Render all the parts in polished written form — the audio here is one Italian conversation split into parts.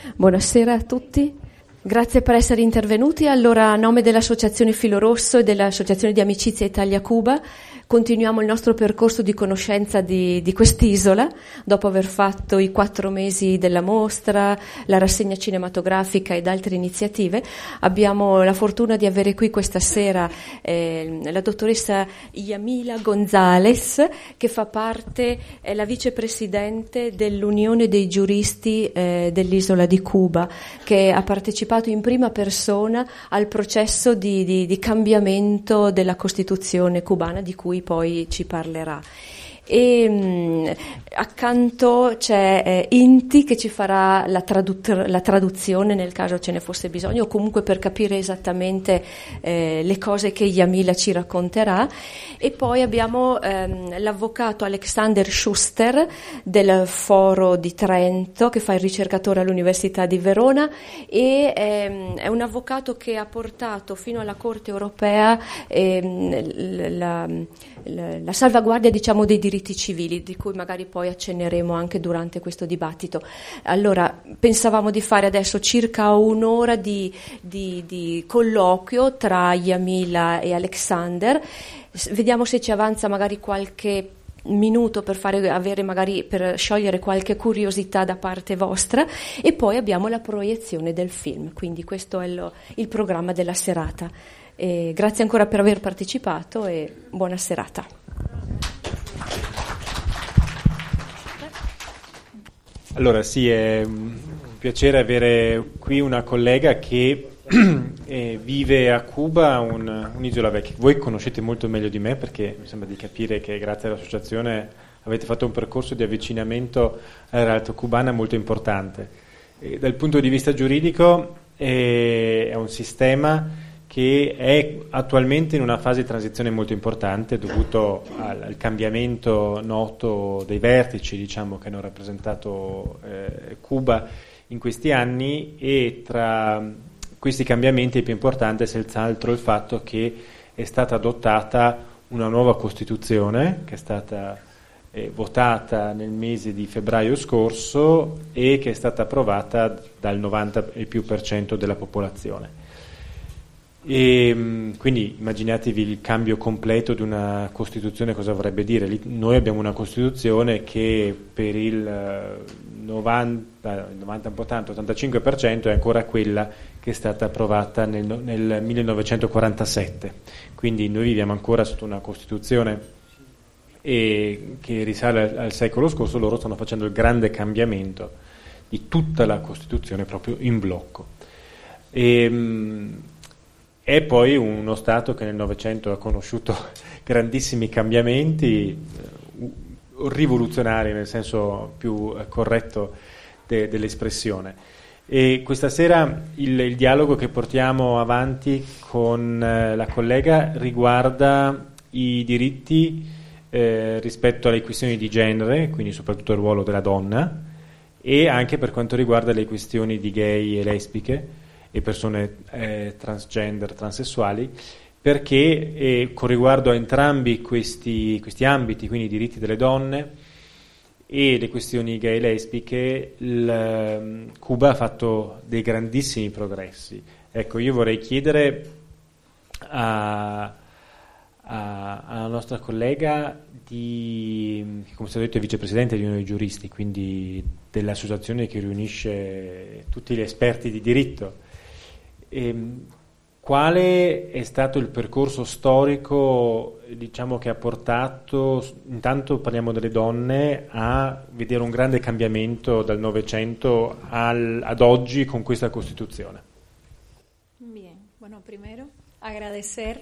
Buonasera a tutti. Grazie per essere intervenuti. Allora, a nome dell'Associazione Filo Rosso e dell'Associazione di Amicizia Italia-Cuba, continuiamo il nostro percorso di conoscenza di quest'isola, dopo aver fatto i 4 mesi della mostra, la rassegna cinematografica ed altre iniziative. Abbiamo la fortuna di avere qui questa sera la dottoressa Yamila González, che fa parte, è la vicepresidente dell'Unione dei giuristi dell'isola di Cuba, che ha partecipato in prima persona al processo di cambiamento della Costituzione cubana, di cui poi ci parlerà. E accanto c'è Inti, che ci farà la traduzione nel caso ce ne fosse bisogno, o comunque per capire esattamente le cose che Yamila ci racconterà. E poi abbiamo l'avvocato Alexander Schuster del Foro di Trento, che fa il ricercatore all'Università di Verona, e è un avvocato che ha portato fino alla Corte europea la salvaguardia, diciamo, dei diritti civili, di cui magari poi accenneremo anche durante questo dibattito. Allora, pensavamo di fare adesso circa un'ora di colloquio tra Yamila e Alexander. Vediamo se ci avanza magari qualche minuto per per sciogliere qualche curiosità da parte vostra, e poi abbiamo la proiezione del film. Quindi questo è il programma della serata. Grazie ancora per aver partecipato e buona serata. Allora sì, è un piacere avere qui una collega che vive a Cuba, un'isola che voi conoscete molto meglio di me, perché mi sembra di capire che grazie all'associazione avete fatto un percorso di avvicinamento alla realtà cubana molto importante. Dal punto di vista giuridico è un sistema che è attualmente in una fase di transizione molto importante, dovuto al cambiamento noto dei vertici, diciamo, che hanno rappresentato Cuba in questi anni, e tra questi cambiamenti il più importante è senz'altro il fatto che è stata adottata una nuova Costituzione, che è stata votata nel mese di febbraio scorso e che è stata approvata dal 90% della popolazione. E quindi immaginatevi il cambio completo di una Costituzione, cosa vorrebbe dire. Noi abbiamo una Costituzione che per il 90 un po' tanto, 85% è ancora quella che è stata approvata nel 1947, quindi noi viviamo ancora sotto una Costituzione che risale al secolo scorso. Loro stanno facendo il grande cambiamento di tutta la Costituzione proprio in blocco. È poi uno Stato che nel Novecento ha conosciuto grandissimi cambiamenti, rivoluzionari nel senso più corretto dell'espressione. E questa sera il dialogo che portiamo avanti con la collega riguarda i diritti rispetto alle questioni di genere, quindi soprattutto il ruolo della donna, e anche per quanto riguarda le questioni di gay e lesbiche e persone transgender, transessuali, perché con riguardo a entrambi questi ambiti, quindi i diritti delle donne e le questioni gay e lesbiche, Cuba ha fatto dei grandissimi progressi. Ecco, io vorrei chiedere alla nostra collega, che come è stato detto è vicepresidente di uno dei giuristi, quindi dell'associazione che riunisce tutti gli esperti di diritto, quale è stato il percorso storico, diciamo, che ha portato, intanto parliamo delle donne, a vedere un grande cambiamento dal Novecento ad oggi con questa Costituzione? Bien, bueno, primero agradecer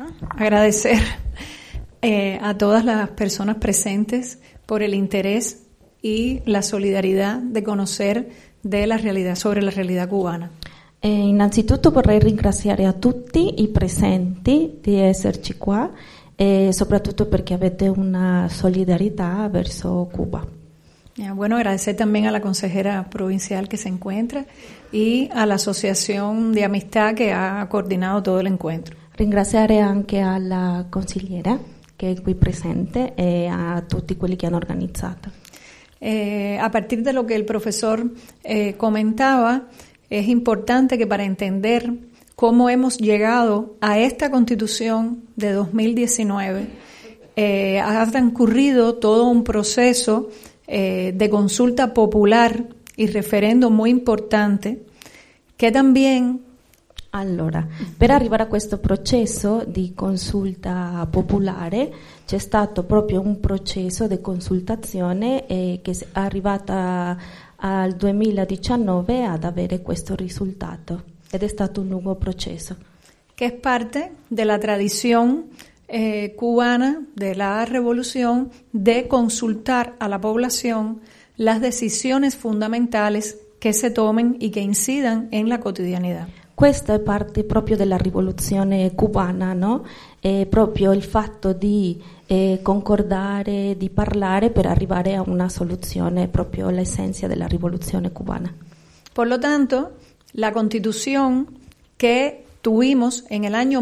a todas las personas presentes por el interés y la solidaridad de conocer de la realidad, sobre la realidad cubana. Innanzitutto vorrei ringraziare a tutti i presenti di esserci qua, e soprattutto perché avete una solidarietà verso Cuba. Bueno, agradecer también a la consejera provincial que se encuentra y a la asociación de amistad que ha coordinado todo el encuentro. Ringraziare anche alla consigliera che è qui presente e a tutti quelli che hanno organizzato. a partir de lo que el profesor comentaba, es importante que para entender cómo hemos llegado a esta Constitución de 2019, ha transcurrido todo un proceso de consulta popular y referendo muy importante, che también... Allora, per arrivare a questo processo di consulta popolare c'è stato proprio un processo di consultazione che è arrivata al 2019 ad avere questo risultato ed è stato un lungo processo. Que es parte de la tradición cubana de la revolución de consultar a la población las decisiones fundamentales que se tomen y que incidan en la cotidianidad. Questa è parte proprio della rivoluzione cubana, no? Proprio il fatto di concordare, di parlare per arrivare a una soluzione, proprio l'essenza della rivoluzione cubana. Por lo tanto, la Constitución que tuvimos en el año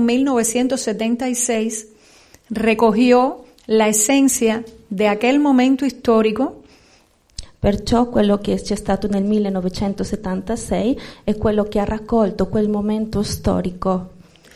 1976 recogió la esencia de aquel momento histórico. Perciò quello che c'è stato nel 1976 è quello che ha raccolto quel momento storico.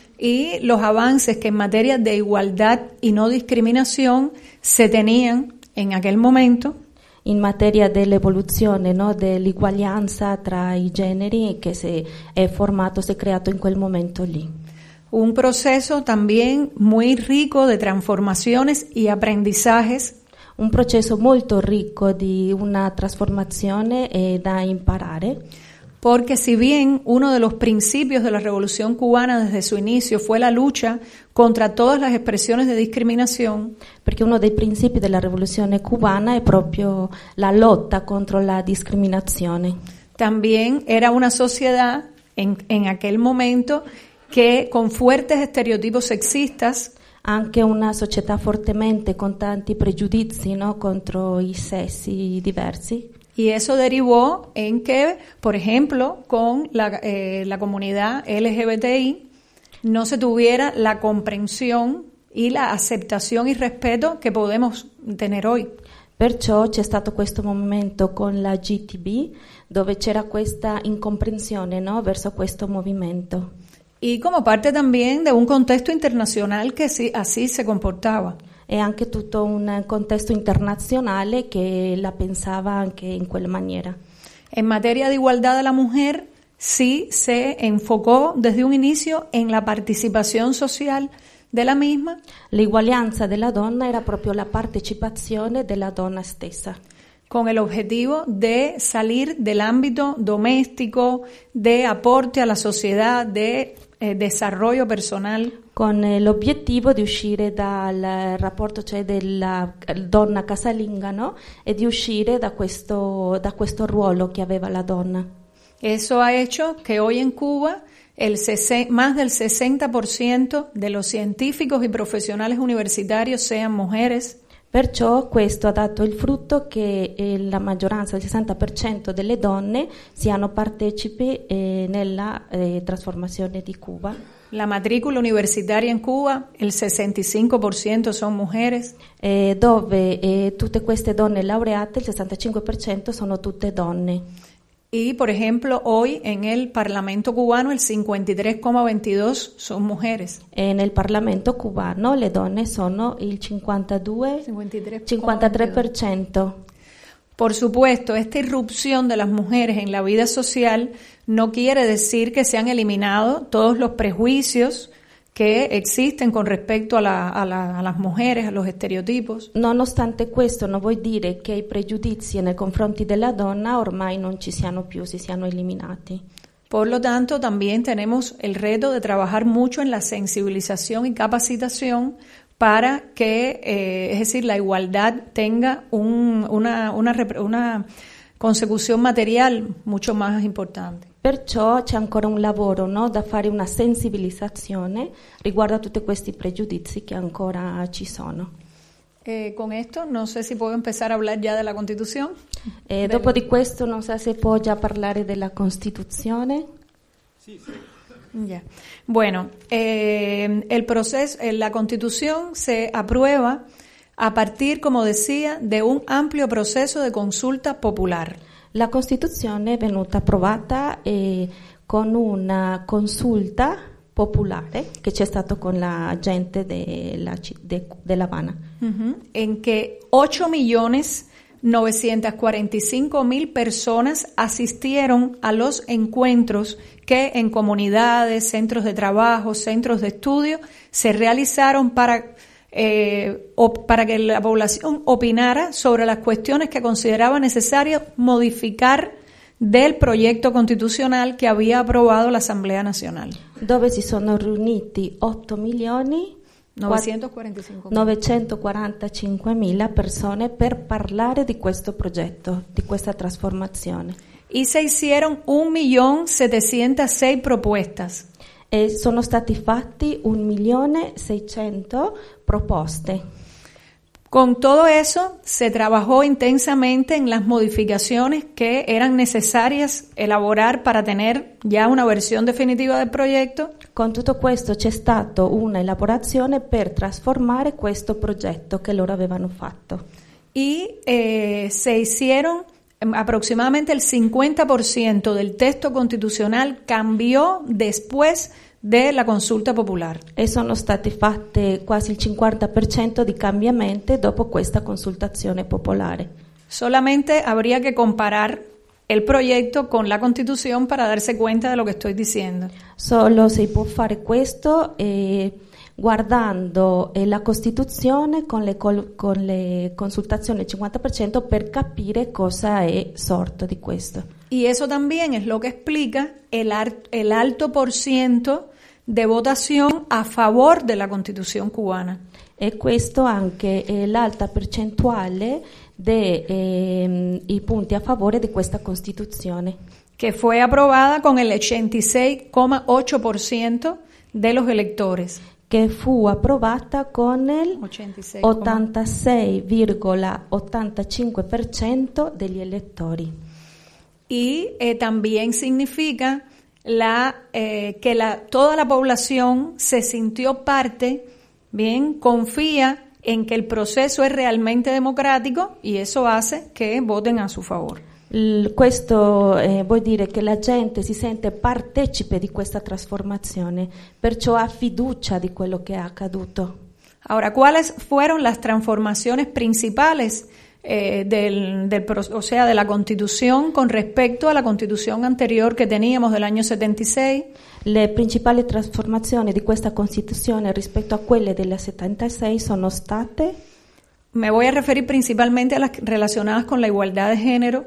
Y los avances que en materia de igualdad y no discriminación se tenían en aquel momento. In materia dell'evoluzione, no, dell'uguaglianza tra i generi che si è creato in quel momento lì. Un proceso también muy rico de transformaciones y aprendizajes. Un processo molto ricco di una trasformazione da imparare. Porque si bien uno de los principios de la Revolución Cubana desde su inicio fue la lucha contra todas las expresiones de discriminación, perché uno dei principi della rivoluzione cubana è proprio la lotta contro la discriminazione. También era una sociedad en aquel momento que con fuertes estereotipos sexistas, anche una società fortemente con tanti pregiudizi, no, contro i sessi diversi. Y eso derivó en que, por ejemplo, con la comunidad LGBTI no se tuviera la comprensión y la aceptación y respeto que podemos tener hoy. Perciò c'è stato questo momento con la GTB dove c'era questa incomprensione, no, verso questo movimento. Y como parte también de un contexto internacional que sí, así se comportaba. E anche tutto un contesto internazionale che la pensava anche in quella maniera. En materia de igualdad de la mujer, sí se enfocó desde un inicio en la participación social de la misma. L'uguaglianza della donna era proprio la partecipazione della donna stessa. Con el objetivo de salir del ámbito doméstico, de aporte a la sociedad, de desarrollo personal. Con l'obiettivo di uscire dal rapporto, cioè della donna casalinga, no? E di uscire da questo ruolo che aveva la donna. Eso ha hecho que hoy en Cuba más del 60% de los científicos y profesionales universitarios sean mujeres. Perciò questo ha dato il frutto che la maggioranza, il 60% delle donne, siano partecipi nella trasformazione di Cuba. La matrícula universitaria en Cuba, el 65% son mujeres. Dove tutte queste donne laureate, il 65% sono tutte donne. Y, por ejemplo, hoy en el Parlamento cubano el 53,22 son mujeres. Nel Parlamento cubano le donne sono il 53%. Por supuesto, esta irrupción de las mujeres en la vida social no quiere decir que se han eliminado todos los prejuicios che existen con respetto a las mujeres, a los estereotipos. Nonostante questo, non vuol dire che i pregiudizi nei confronti della donna ormai non ci siano più, si siano eliminati. Por lo tanto, también tenemos el reto de trabajar mucho en la sensibilización y capacitación para que, es decir, la igualdad tenga una consecuzione materiale mucho más importante. Perciò c'è ancora un lavoro, no, da fare, una sensibilizzazione riguardo a tutti questi pregiudizi che ancora ci sono. Con esto no sé si puedo empezar a hablar ya de la Constitución. Dopo di questo non so se può già parlare della Costituzione. Sì. Ya. Bueno, el proceso, la Constitución se aprueba a partir, como decía, de un amplio proceso de consulta popular. La Costituzione è venuta approvata con una consulta popolare che c'è stato con la gente della Habana. En que 8.945.000 personas asistieron a los encuentros que en comunidades, centros de trabajo, centros de estudio se realizaron para que la población opinara sobre las cuestiones que consideraba necesario modificar del proyecto constitucional que había aprobado la Asamblea Nacional. Dove si sono riuniti 8.945.000 persone per parlare di questo progetto, di questa trasformazione. Y se hicieron 1.706.000 propuestas. E sono stati fatti 1.600.000 proposte. Con todo eso, se trabajó intensamente en las modificaciones que eran necesarias elaborar para tener ya una versión definitiva del proyecto. Con tutto questo c'è stata una elaborazione per trasformare questo progetto che loro avevano fatto. Y se hicieron aproximadamente el 50% del texto constitucional cambió después de la consulta popular. E sono stati fatti quasi il 50% di cambiamenti dopo questa consultazione popolare. Solamente habría que comparar el proyecto con la Constitución para darse cuenta de lo que estoy diciendo. Solo si può fare questo guardando la Costituzione con le consultazioni al 50% per capire cosa è sorto di questo. Y eso también es lo que explica el alto porciento de votación a favor de la Constitución cubana. E questo anche l'alta percentuale dei punti a favore di questa Costituzione. Que fue aprobada con el 86,8% de los electores. Che fu approvata con il 86,85% degli elettori. Y también significa toda la población se sintió parte, bien, confía en que el proceso es realmente democrático y eso hace que voten a su favor. Questo vuol dire che la gente si sente partecipe di questa trasformazione, perciò ha fiducia di quello che è accaduto. Ahora, ¿cuáles fueron las transformaciones principales de la Constitución con respecto a la Constitución anterior que teníamos del año 76? Le principali trasformazioni di questa Costituzione rispetto a quelle del 76 sono state? Me voy a referir principalmente a las relacionadas con la igualdad de género.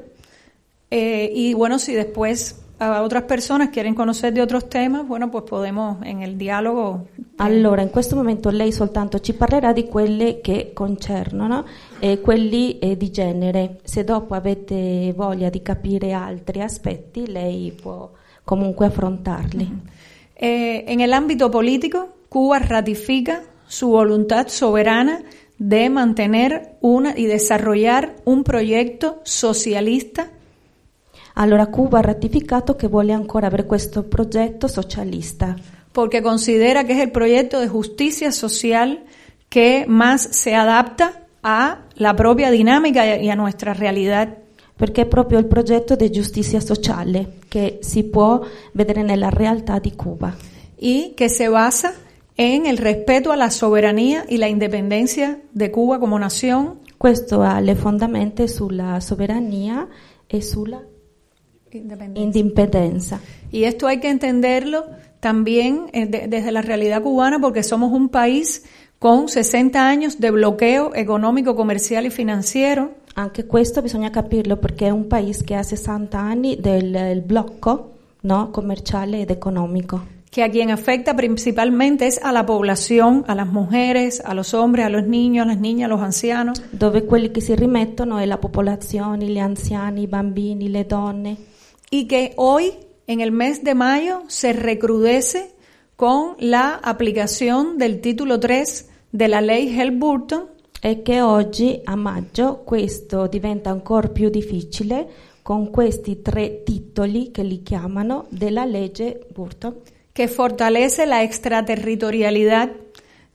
Y bueno, si después a otras personas quieren conocer de otros temas, bueno, pues podemos en el dialogo. Allora, in questo momento lei soltanto ci parlerà di quelle che concernono quelli di genere. Se dopo avete voglia di capire altri aspetti, lei può comunque affrontarli. En el ámbito político, Cuba ratifica su voluntad soberana de mantener y desarrollar un proyecto socialista. Allora Cuba ha ratificato che vuole ancora avere questo progetto socialista. Porque considera que es el proyecto de justicia social que más se adapta a la propia dinámica y a nuestra realidad. Perché è proprio il progetto di giustizia sociale che si può vedere nella realtà di Cuba. Y que se basa en el respeto a la soberanía y la independencia de Cuba como nación. Questo ha le fondamenta sulla sovrania e sulla independencia. Y esto hay que entenderlo también desde la realidad cubana porque somos un país con 60 años de bloqueo económico, comercial y financiero. Anche questo bisogna capirlo perché è un paese che ha 60 anni del blocco, no, commerciale ed economico. Que a quien afecta principalmente es a la población, a las mujeres, a los hombres, a los niños, a las niñas, a los ancianos. Dove quelli che si rimettono è la popolazione, gli anziani, i bambini, le donne. Y que hoy, en el mes de mayo, se recrudece con la aplicación del título 3 de la ley Helms-Burton. E che oggi, a maggio, questo diventa ancora più difficile con questi 3 titoli che li chiamano della legge Burton. Que fortalece la extraterritorialidad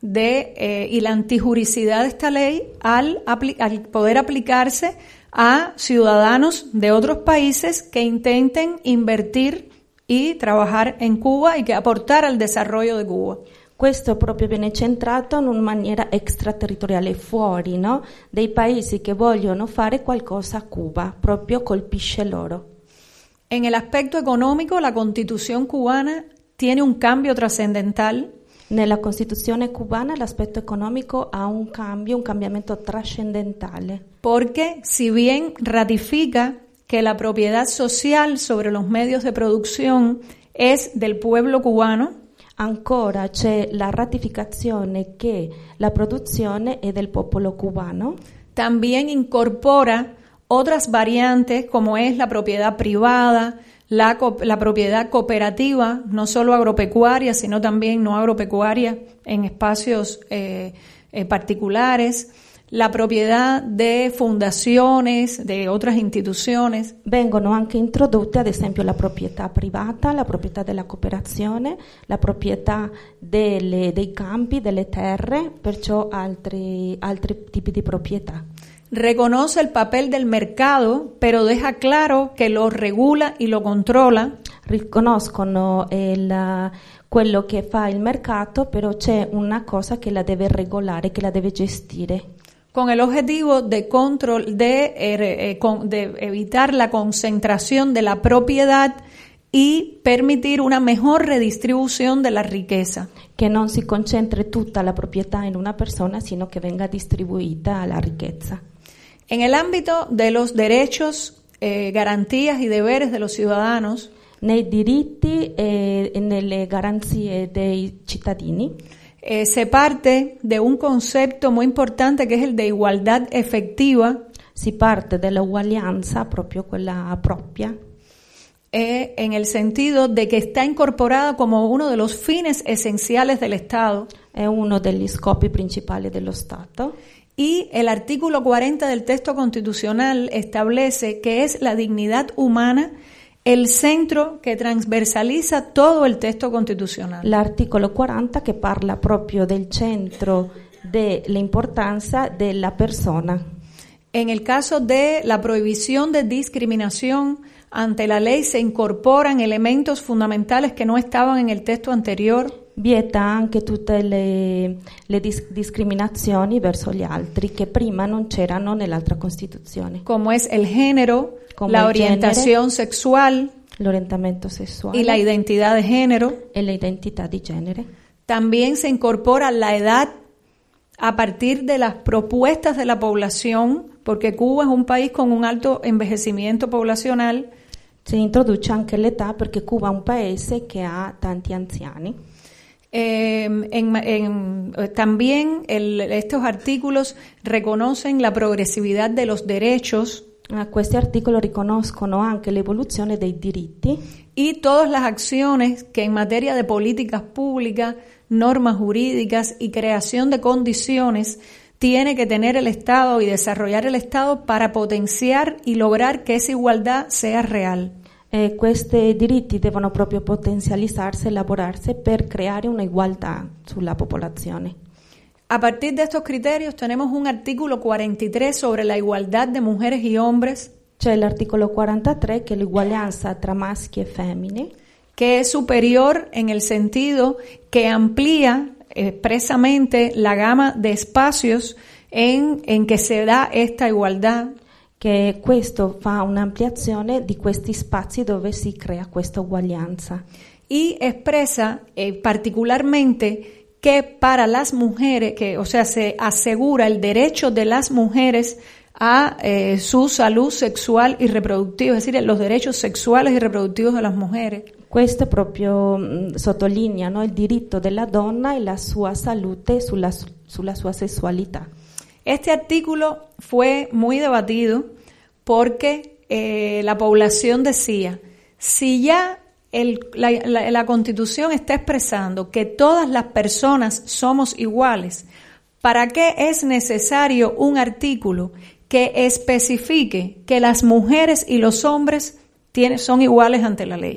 y la antijuricidad de esta ley al poder aplicarse a ciudadanos de otros países que intenten invertir y trabajar en Cuba y che aportare al desarrollo di Cuba. Questo proprio viene centrato in una maniera extraterritoriale, fuori, no? Dei paesi che vogliono fare qualcosa a Cuba, proprio colpisce loro. En el aspecto económico, la Constitución cubana tiene un cambio trascendental. Nella Costituzione cubana l'aspetto economico ha un cambiamento trascendentale. Porque si bien ratifica que la propiedad social sobre los medios de producción es del pueblo cubano, ancora c'è la ratificazione che la produzione è del popolo cubano. También incorpora otras variantes como es la propiedad privada, la propiedad cooperativa, no solo agropecuaria, sino también no agropecuaria en espacios particulares, la proprietà di fondazioni, di altre istituzioni. Vengono anche introdotte ad esempio la proprietà privata, la proprietà della cooperazione, la proprietà dei campi, delle terre, perciò altri tipi di proprietà. Reconoce el papel del mercado, pero deja claro que lo regula y lo controla. Riconoscono quello che fa il mercato, però c'è una cosa che la deve regolare, che la deve gestire. Con el objetivo de evitar la concentración de la propiedad y permitir una mejor redistribución de la riqueza. Che non si concentri tutta la proprietà in una persona, sino che venga distribuita la ricchezza. En el ámbito de los derechos, garantías y deberes de los ciudadanos, nei diritti e nelle garanzie dei cittadini, se parte de un concepto muy importante que es el de igualdad efectiva. Si parte della uguaglianza, proprio quella propria. En el sentido de que está incorporada como uno de los fines esenciales del Estado. È uno degli scopi principali dello Stato. Y el artículo 40 del texto constitucional establece que es la dignidad humana el centro que transversaliza todo el texto constitucional. L'articolo 40 che parla proprio del centro dell'importanza della persona. En el caso de la prohibición de discriminación, ante la ley se incorporan elementos fundamentales que no estaban en el texto anterior. Vieta anche tutte le discriminazioni verso gli altri che prima non c'erano nell'altra Costituzione. Como es el género, la orientación sexual, l'orientamento sessuale y la identidad de género. E l'identità di genere. También se incorpora la edad a partir de las propuestas de la población, porque Cuba es un país con un alto envejecimiento poblacional. Si introduce anche l'età perché Cuba è un paese che ha tanti anziani. También estos artículos reconocen la progresividad de los derechos. Questi articoli riconoscono anche l'evoluzione dei diritti y todas las acciones que en materia de políticas públicas, normas jurídicas y creación de condiciones tiene que tener el Estado y desarrollar el Estado para potenciar y lograr que esa igualdad sea real. Questi diritti devono proprio potenzializzarsi e lavorarsi per creare una igualdad sulla popolazione. A partir de estos criterios tenemos un artículo 43 sobre la igualdad de mujeres y hombres. C'è l'articolo 43 che è l'uguaglianza tra maschi e femmine, que es superior en el sentido que amplía expresamente la gama de espacios en que se da esta igualdad. Che questo fa un'ampliazione di questi spazi dove si crea questa uguaglianza. Y expresa particularmente que para las mujeres, se asegura el derecho de las mujeres a su salud sexual y reproductiva, es decir, los derechos sexuales y reproductivos de las mujeres. Questo proprio sottolinea, no, il diritto della donna e la sua salute sulla sua sessualità. Este artículo fue muy debatido porque la población decía, si ya la Constitución está expresando que todas las personas somos iguales, ¿para qué es necesario un artículo que especifique que las mujeres y los hombres son iguales ante la ley?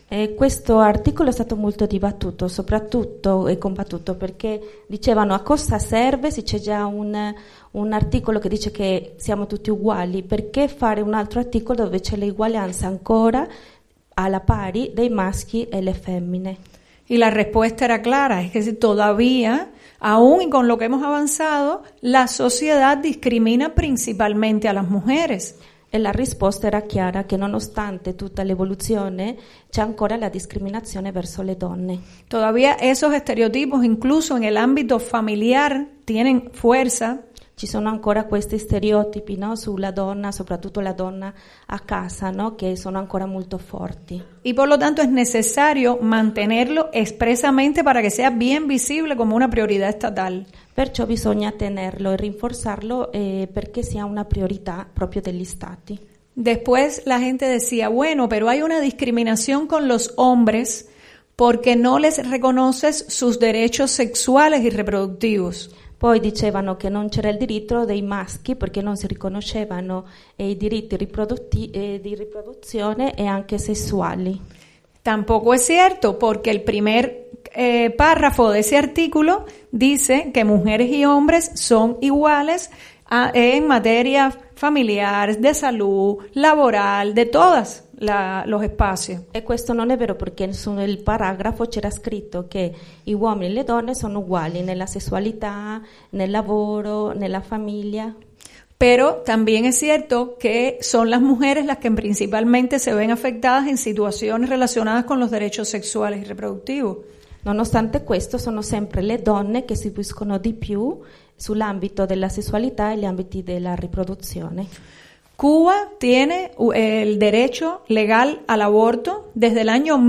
Questo articolo è stato molto dibattuto, soprattutto e combattuto, perché dicevano a cosa serve se c'è già un articolo che dice che siamo tutti uguali, perché fare un altro articolo dove c'è l'uguaglianza ancora alla pari dei maschi e le femmine? Y la respuesta era clara, es que todavía, aún y con lo que hemos avanzado, la sociedad discrimina principalmente a las mujeres. E la risposta era chiara, che nonostante tutta l'evoluzione c'è ancora la discriminazione verso le donne. Todavía esos estereotipos, incluso en el ámbito familiar, tienen fuerza. Ci sono ancora questi stereotipi, no, sulla donna, soprattutto la donna a casa, no, che sono ancora molto forti. Y por lo tanto es necesario mantenerlo expresamente para que sea bien visible como una prioridad estatal. Perciò bisogna tenerlo e rinforzarlo perché sia una priorità proprio degli stati. Después la gente decía, bueno, pero hay una discriminación con los hombres porque no les reconoces sus derechos sexuales y reproductivos. Poi dicevano che non c'era il diritto dei maschi perché non si riconoscevano i diritti di riproduzione e anche sessuali. Tampoco es cierto, porque el primer párrafo de ese artículo dice que mujeres y hombres son iguales en materia familiar, de salud, laboral, de todos los espacios. E questo non è vero perché nel paragrafo c'era scritto che gli uomini e le donne sono uguali nella sessualità, nel lavoro, nella famiglia. Pero también es cierto que son las mujeres las que principalmente se ven afectadas en situaciones relacionadas con los derechos sexuales y reproductivos. Nonostante questo sono sempre le donne che subiscono di più sull'ambito della sessualità e gli ambiti della riproduzione. Cuba tiene el derecho legal al aborto desde el año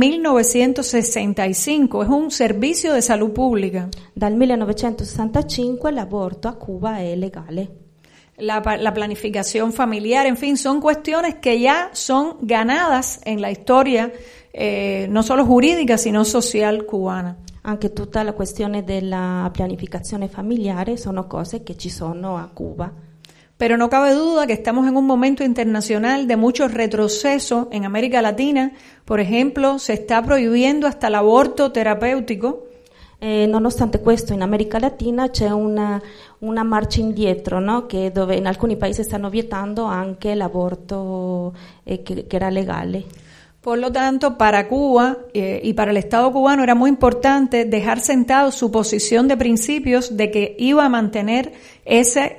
1965, es un servicio de salud pública. Dal 1965 l'aborto a Cuba è legale. La planificación familiar, en fin, son cuestiones que ya son ganadas en la historia, no solo jurídica, sino social cubana. Anche tutta la questione della pianificazione familiare sono cose che ci sono a Cuba. Pero no cabe duda que estamos en un momento internacional de mucho retroceso en América Latina. Por ejemplo, se está prohibiendo hasta el aborto terapéutico. Nonostante questo, in America Latina c'è una marcia indietro, no? Che dove in alcuni paesi stanno vietando anche l'aborto che era legale. Por lo tanto, para Cuba y para el Estado cubano era muy importante dejar sentado su posición de principios de que iba a mantener ese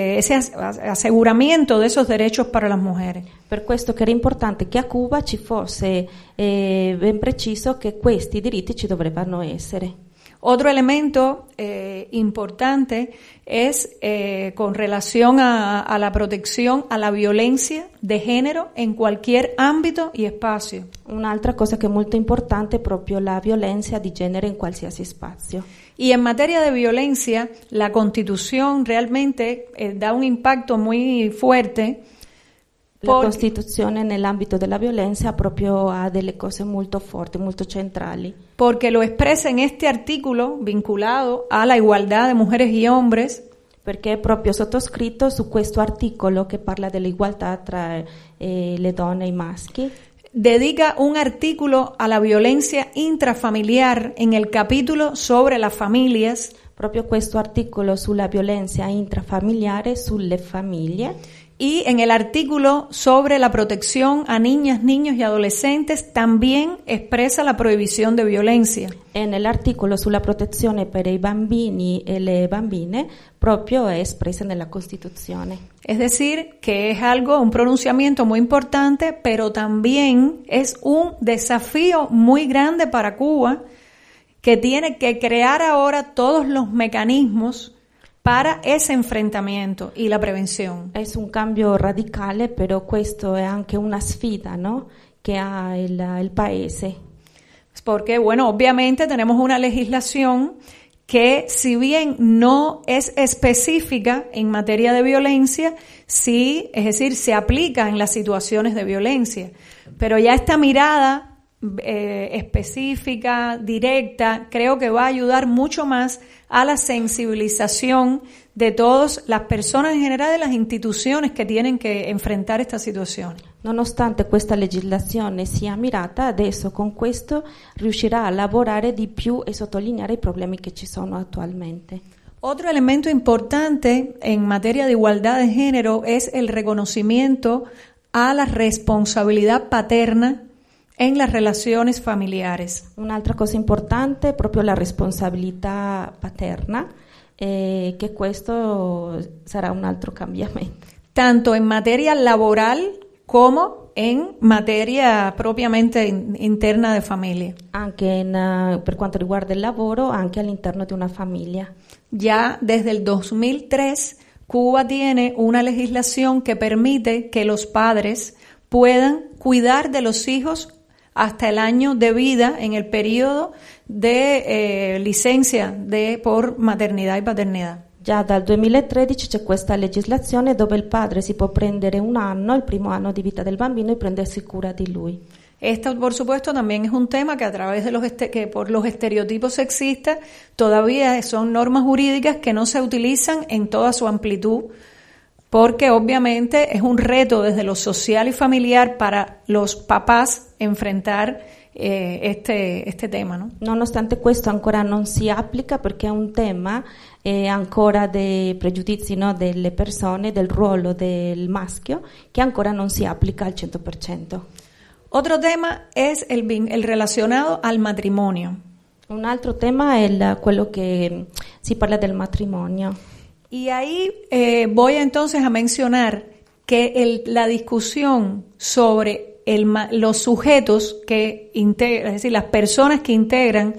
aseguramiento de esos derechos para las mujeres. Per questo che era importante che a Cuba ci fosse ben preciso che questi diritti ci dovrebbero essere. Otro elemento importante es con relación a la protección a la violencia de género en cualquier ámbito y espacio. Un'altra cosa che è molto importante è proprio la violenza di genere in qualsiasi spazio. Y en materia de violencia, la Constitución realmente da un impacto muy fuerte. La Costituzione nell'ambito della violenza proprio ha delle cose molto forti, molto centrali. Porque lo expresa en este artículo vinculado a la igualdad de mujeres y hombres. Perché è proprio sottoscritto su questo articolo che parla dell'igualdà tra le donne e i maschi. Dedica un artículo a la violencia intrafamiliar en el capítulo sobre las familias. Proprio questo articolo sulla violenza intrafamiliare, sulle famiglie. Y en el artículo sobre la protección a niñas, niños y adolescentes también expresa la prohibición de violencia. E nell'articolo sulla protezione per i bambini e le bambine proprio è espressa nella Costituzione. Es decir, que es un pronunciamiento muy importante, pero también es un desafío muy grande para Cuba, que tiene que crear ahora todos los mecanismos para ese enfrentamiento y la prevención. Es un cambio radicale, pero questo è anche una sfida, ¿no? Que ha el paese. Porque, bueno, obviamente tenemos una legislación que, si bien no es específica en materia de violencia, sí, es decir, se aplica en las situaciones de violencia. Pero ya esta mirada específica, directa, creo que va a ayudar mucho más a la sensibilización de todas las personas en general, de las instituciones que tienen que enfrentar esta situación. Nonostante questa legislazione sia mirata, adesso con questo riuscirà a lavorare di più e sottolineare i problemi che ci sono attualmente. Otro elemento importante en materia de igualdad de género es el reconocimiento a la responsabilidad paterna en las relaciones familiares. Un'altra cosa importante è proprio la responsabilità paterna, che questo sarà un altro cambiamento. Tanto en materia laboral como en materia propiamente interna de familia. Anche per quanto riguarda il lavoro, anche all'interno di una famiglia. Ya desde el 2003, Cuba tiene una legislación que permite que los padres puedan cuidar de los hijos hasta el año de vida en el periodo de licencia por maternidad y paternidad. Già dal 2013 c'è questa legislazione dove il padre si può prendere un anno, il primo anno di vita del bambino, e prendersi cura di lui. Esto, por supuesto, también es un tema que a través de que por los estereotipos sexistas todavía son normas jurídicas que no se utilizan en toda su amplitud, porque obviamente es un reto desde lo social y familiar para los papás enfrentar este tema, ¿no? Nonostante questo ancora non si applica perché è un tema ancora dei pregiudizi, no, delle persone, del ruolo del maschio, che ancora non si applica al 100%. Otro tema es el relacionado al matrimonio. Un altro tema è quello che si parla del matrimonio. Y ahí voy entonces a mencionar que la discusión sobre los sujetos que integran, es decir, las personas que integran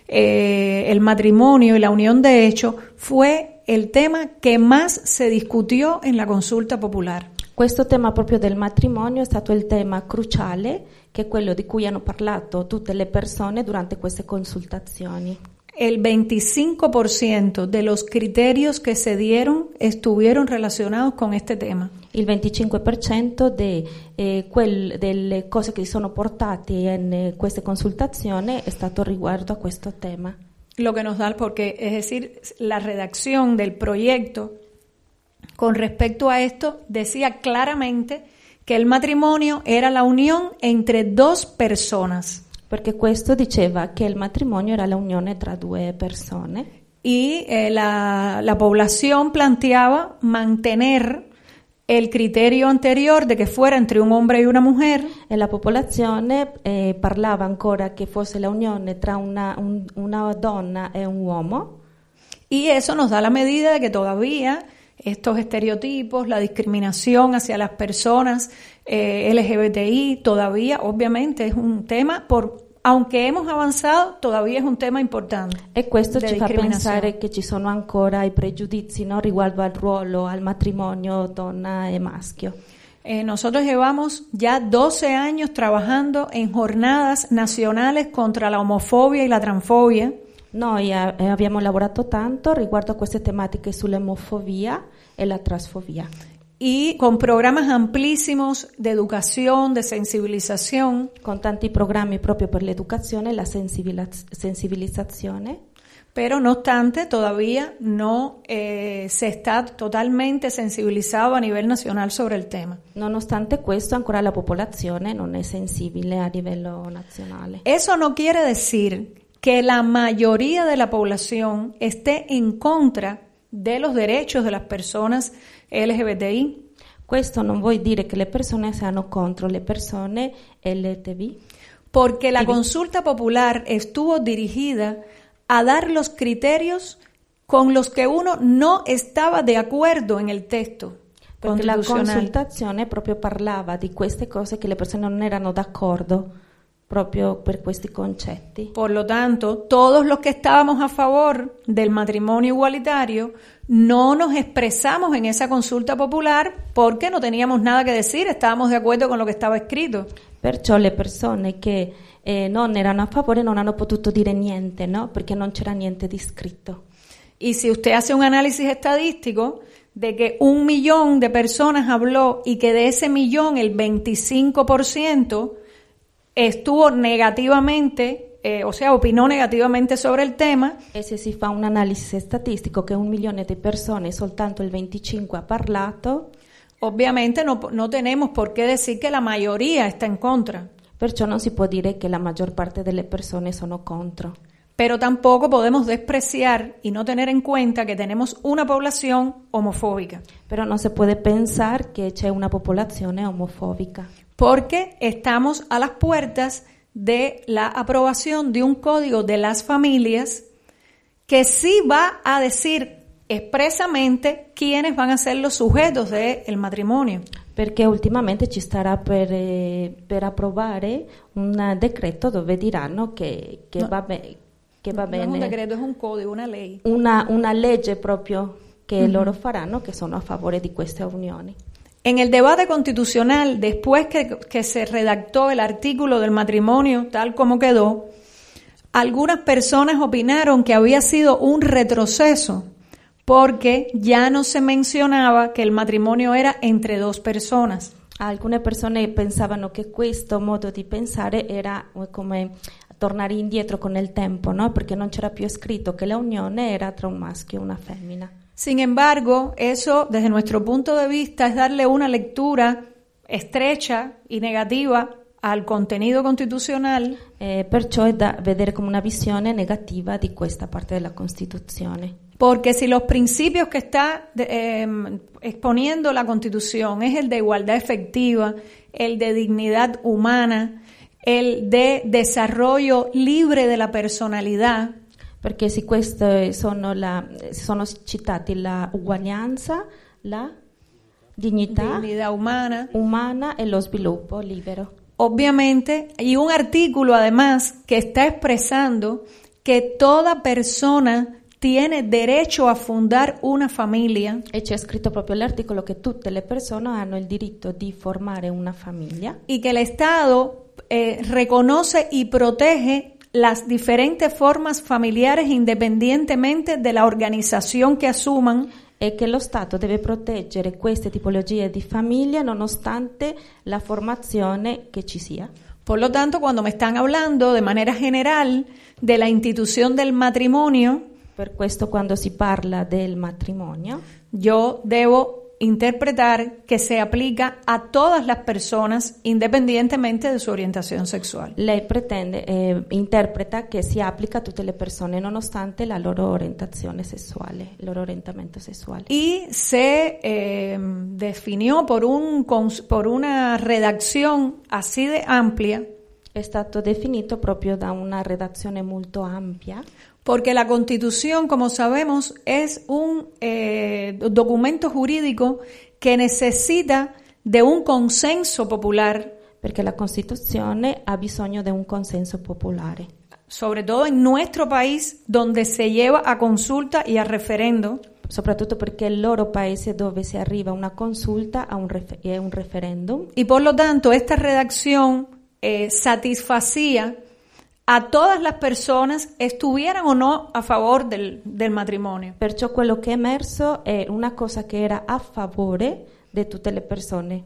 el matrimonio y la unión de hecho, fue el tema que más se discutió en la consulta popular. Questo tema proprio del matrimonio è stato il tema cruciale, che è quello di cui hanno parlato tutte le persone durante queste consultazioni. El 25% de los criterios que se dieron estuvieron relacionados con este tema. Il 25% delle cose che sono portate in queste consultazioni è stato riguardo a questo tema. Lo que nos da, porque es decir, la redacción del proyecto con respecto a esto decía claramente que el matrimonio era la unión entre dos personas. Perché questo diceva che il matrimonio era la unione tra due persone. Y la población planteaba mantener el criterio anterior de que fuera entre un hombre y una mujer. E la popolazione parlava ancora che fosse la unione tra una donna e un uomo. Y eso nos da la medida de que todavía estos estereotipos, la discriminación hacia las personas LGBTI, todavía obviamente es un tema, aunque hemos avanzado, todavía es un tema importante. E questo ci fa pensare che ci sono ancora i pregiudizi, no, riguardo al ruolo, al matrimonio donna e maschio. Nosotros llevamos ya 12 años trabajando en jornadas nacionales contra la homofobia y la transfobia. Noi abbiamo lavorato tanto riguardo a queste tematiche sull'omofobia e la transfobia. Y con programas amplísimos de educación, de sensibilización. Con tanti programmi proprio per l'educazione e la sensibilizzazione. Pero no obstante, todavía no se está totalmente sensibilizado a nivel nacional sobre el tema. Nonostante questo, ancora la popolazione non è sensibile a livello nazionale. Eso no quiere decir que la mayoría de la población esté en contra de los derechos de las personas LGBTI. Questo non vuol dire che le persone siano contro le persone LGTB. Porque la consulta popular estuvo dirigida a dar los criterios con los que uno no estaba de acuerdo en el texto. Perché la consultazione proprio parlava di queste cose che le persone non erano d'accordo proprio per questi concetti. Por lo tanto, todos los que estábamos a favor del matrimonio igualitario no nos expresamos en esa consulta popular porque no teníamos nada que decir, estábamos de acuerdo con lo que estaba escrito. Perciò le persone che non erano a favore non hanno potuto dire niente, no? Perché non c'era niente di scritto. Y si usted hace un análisis estadístico de que 1 millón de personas habló y que de ese millón el 25% estuvo negativamente, opinò negativamente sobre il tema. E se si fa un analisi statistico che 1 milione di persone, soltanto il 25 ha parlato, Obviamente no tenemos por qué decir que la mayoría está en contra. perciò non si può dire che la maggior parte delle persone sono contro. Pero tampoco podemos despreciar y no tener en cuenta que tenemos una población homofóbica. Però non si può pensare che c'è una popolazione omofobica. Porque estamos a las puertas de la aprobación de un código de las familias que sí va a decir expresamente quiénes van a ser los sujetos del matrimonio. Perché ultimamente ci starà per approvare un decreto dove diranno che No. va bene. Che va No bene. es un decreto, es un código, una ley. Una legge proprio che loro faranno, che sono a favore di queste unioni. En el debate constitucional, después que se redactó el artículo del matrimonio tal como quedó, algunas personas opinaron que había sido un retroceso porque ya no se mencionaba que el matrimonio era entre dos personas. Alcune persone pensavano che questo modo di pensare era come tornare indietro con il tempo, no? Perché non c'era più scritto che la unione era tra un maschio e una femmina. Sin embargo, eso desde nuestro punto de vista es darle una lectura estrecha y negativa al contenido constitucional. Perciò è da vedere come una visione negativa di questa parte della Costituzione. Porque si los principios que está exponiendo la Constitución es el de igualdad efectiva, el de dignidad humana, el de desarrollo libre de la personalidad, Perché se queste sono citati la uguaglianza, la dignità umana e lo sviluppo libero. obviamente, y un artículo además que está expresando que toda persona tiene derecho a fundar una familia. E c'è scritto proprio l'articolo che tutte le persone hanno il diritto di formare una famiglia. Y que el Estado reconoce y protege las diferentes formas familiares independientemente de la organización que asuman. E che lo Stato deve proteggere queste tipologie di famiglia nonostante la formazione che ci sia. Por lo tanto, cuando me están hablando de manera general de la institución del matrimonio, Per questo quando si parla del matrimonio, yo debo interpretar que se aplica a todas las personas independientemente de su orientación sexual. lei interpreta che si applica a tutte le persone nonostante la loro orientazione sessuale, il loro orientamento sessuale. Y se definió por una redacción así de amplia, È stato definito proprio da una redazione molto ampia, porque la Constitución, como sabemos, es un documento jurídico que necesita de un consenso popular, perché la Costituzione ha bisogno di un consenso popolare, sobre todo en nuestro país, donde se lleva a consulta y a referendo. soprattutto perché è il loro paese dove si arriva a una consulta e un referendum. Y por lo tanto, esta redacción satisfacía a todas las personas, estuvieran o no a favor del matrimonio. Perciò quello che è emerso è una cosa che era a favore di tutte le persone.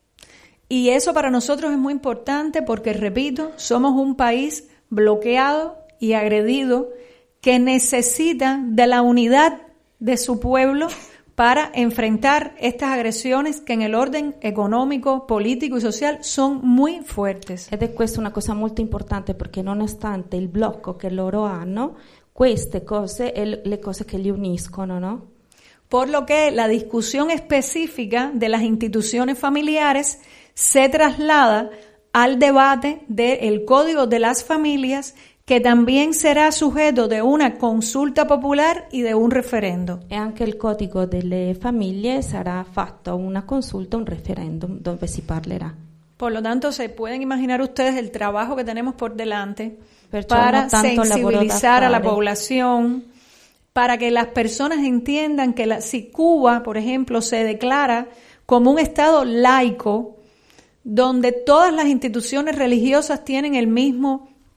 Y eso para nosotros es muy importante porque, repito, somos un país bloqueado y agredido que necesita de la unidad de su pueblo para enfrentar estas agresiones que en el orden económico, político y social son muy fuertes. Ed è questa una cosa molto importante perché nonostante il blocco che loro hanno, queste cose è le cose che li uniscono, no? Por lo que la discusión específica de las instituciones familiares se traslada al debate del Código de las Familias, que también será sujeto de una consulta popular y de un referendo. E anche il codice delle famiglie sarà fatto una consulta, un referendum dove si parlerà. Por lo tanto, se pueden imaginar ustedes el trabajo que tenemos por delante Perciò para no tanto sensibilizar a la lavoro da fare. población, para que las personas entiendan que si Cuba, por ejemplo, se declara como un Estado laico, donde todas las instituciones religiosas tienen el mismo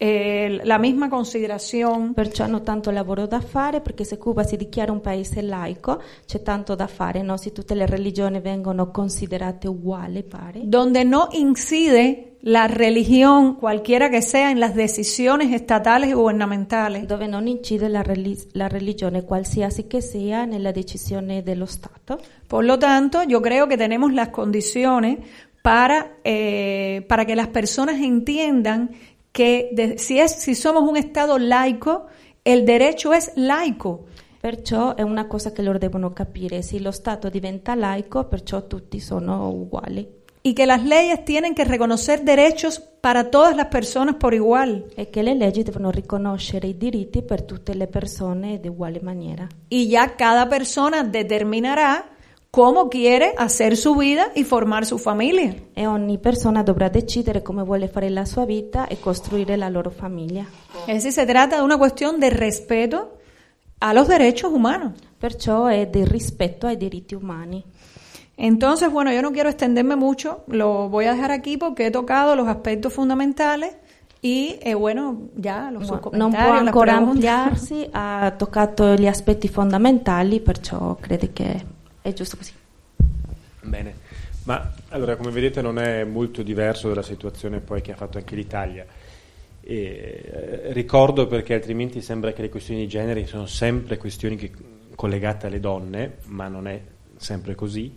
la misma considerazione. Perciò hanno tanto lavoro da fare, perché se Cuba si dichiara un paese laico c'è tanto da fare, no? Se tutte le religioni vengono considerate uguali, pari. Donde no incide la religión, cualquiera que sea, en las decisiones estatales y gubernamentales. Dove non incide la religione, qualsiasi che sia, nella decisione dello Stato. Por lo tanto, yo creo que tenemos las condiciones para que las personas entiendan que si somos un Estado laico, el derecho es laico. Perciò è una cosa che loro devono capire: se lo Stato diventa laico, perciò tutti sono uguali. Y que las leyes tienen que reconocer derechos para todas las personas por igual. E che le leggi devono riconoscere i diritti per tutte le persone di uguale maniera. Y ya cada persona determinará cómo quiere hacer su vida y formar su familia. E ogni persona dovrà decidere come vuole fare la sua vita e costruire la loro famiglia. Es decir, se trata de una cuestión de respeto a los derechos humanos. Perciò è del rispetto ai diritti umani. Entonces, bueno, yo no quiero extenderme mucho, lo voy a dejar aquí porque he tocado los aspectos fundamentales y, bueno, ya los sus comentarios, non può ancora las preguntas. ampliarsi, ha toccato gli aspetti fondamentali, perciò credo che è giusto così. Bene, ma allora come vedete non è molto diverso dalla situazione poi che ha fatto anche l'Italia. Ricordo, perché altrimenti sembra che le questioni di genere sono sempre questioni collegate alle donne, ma non è sempre così.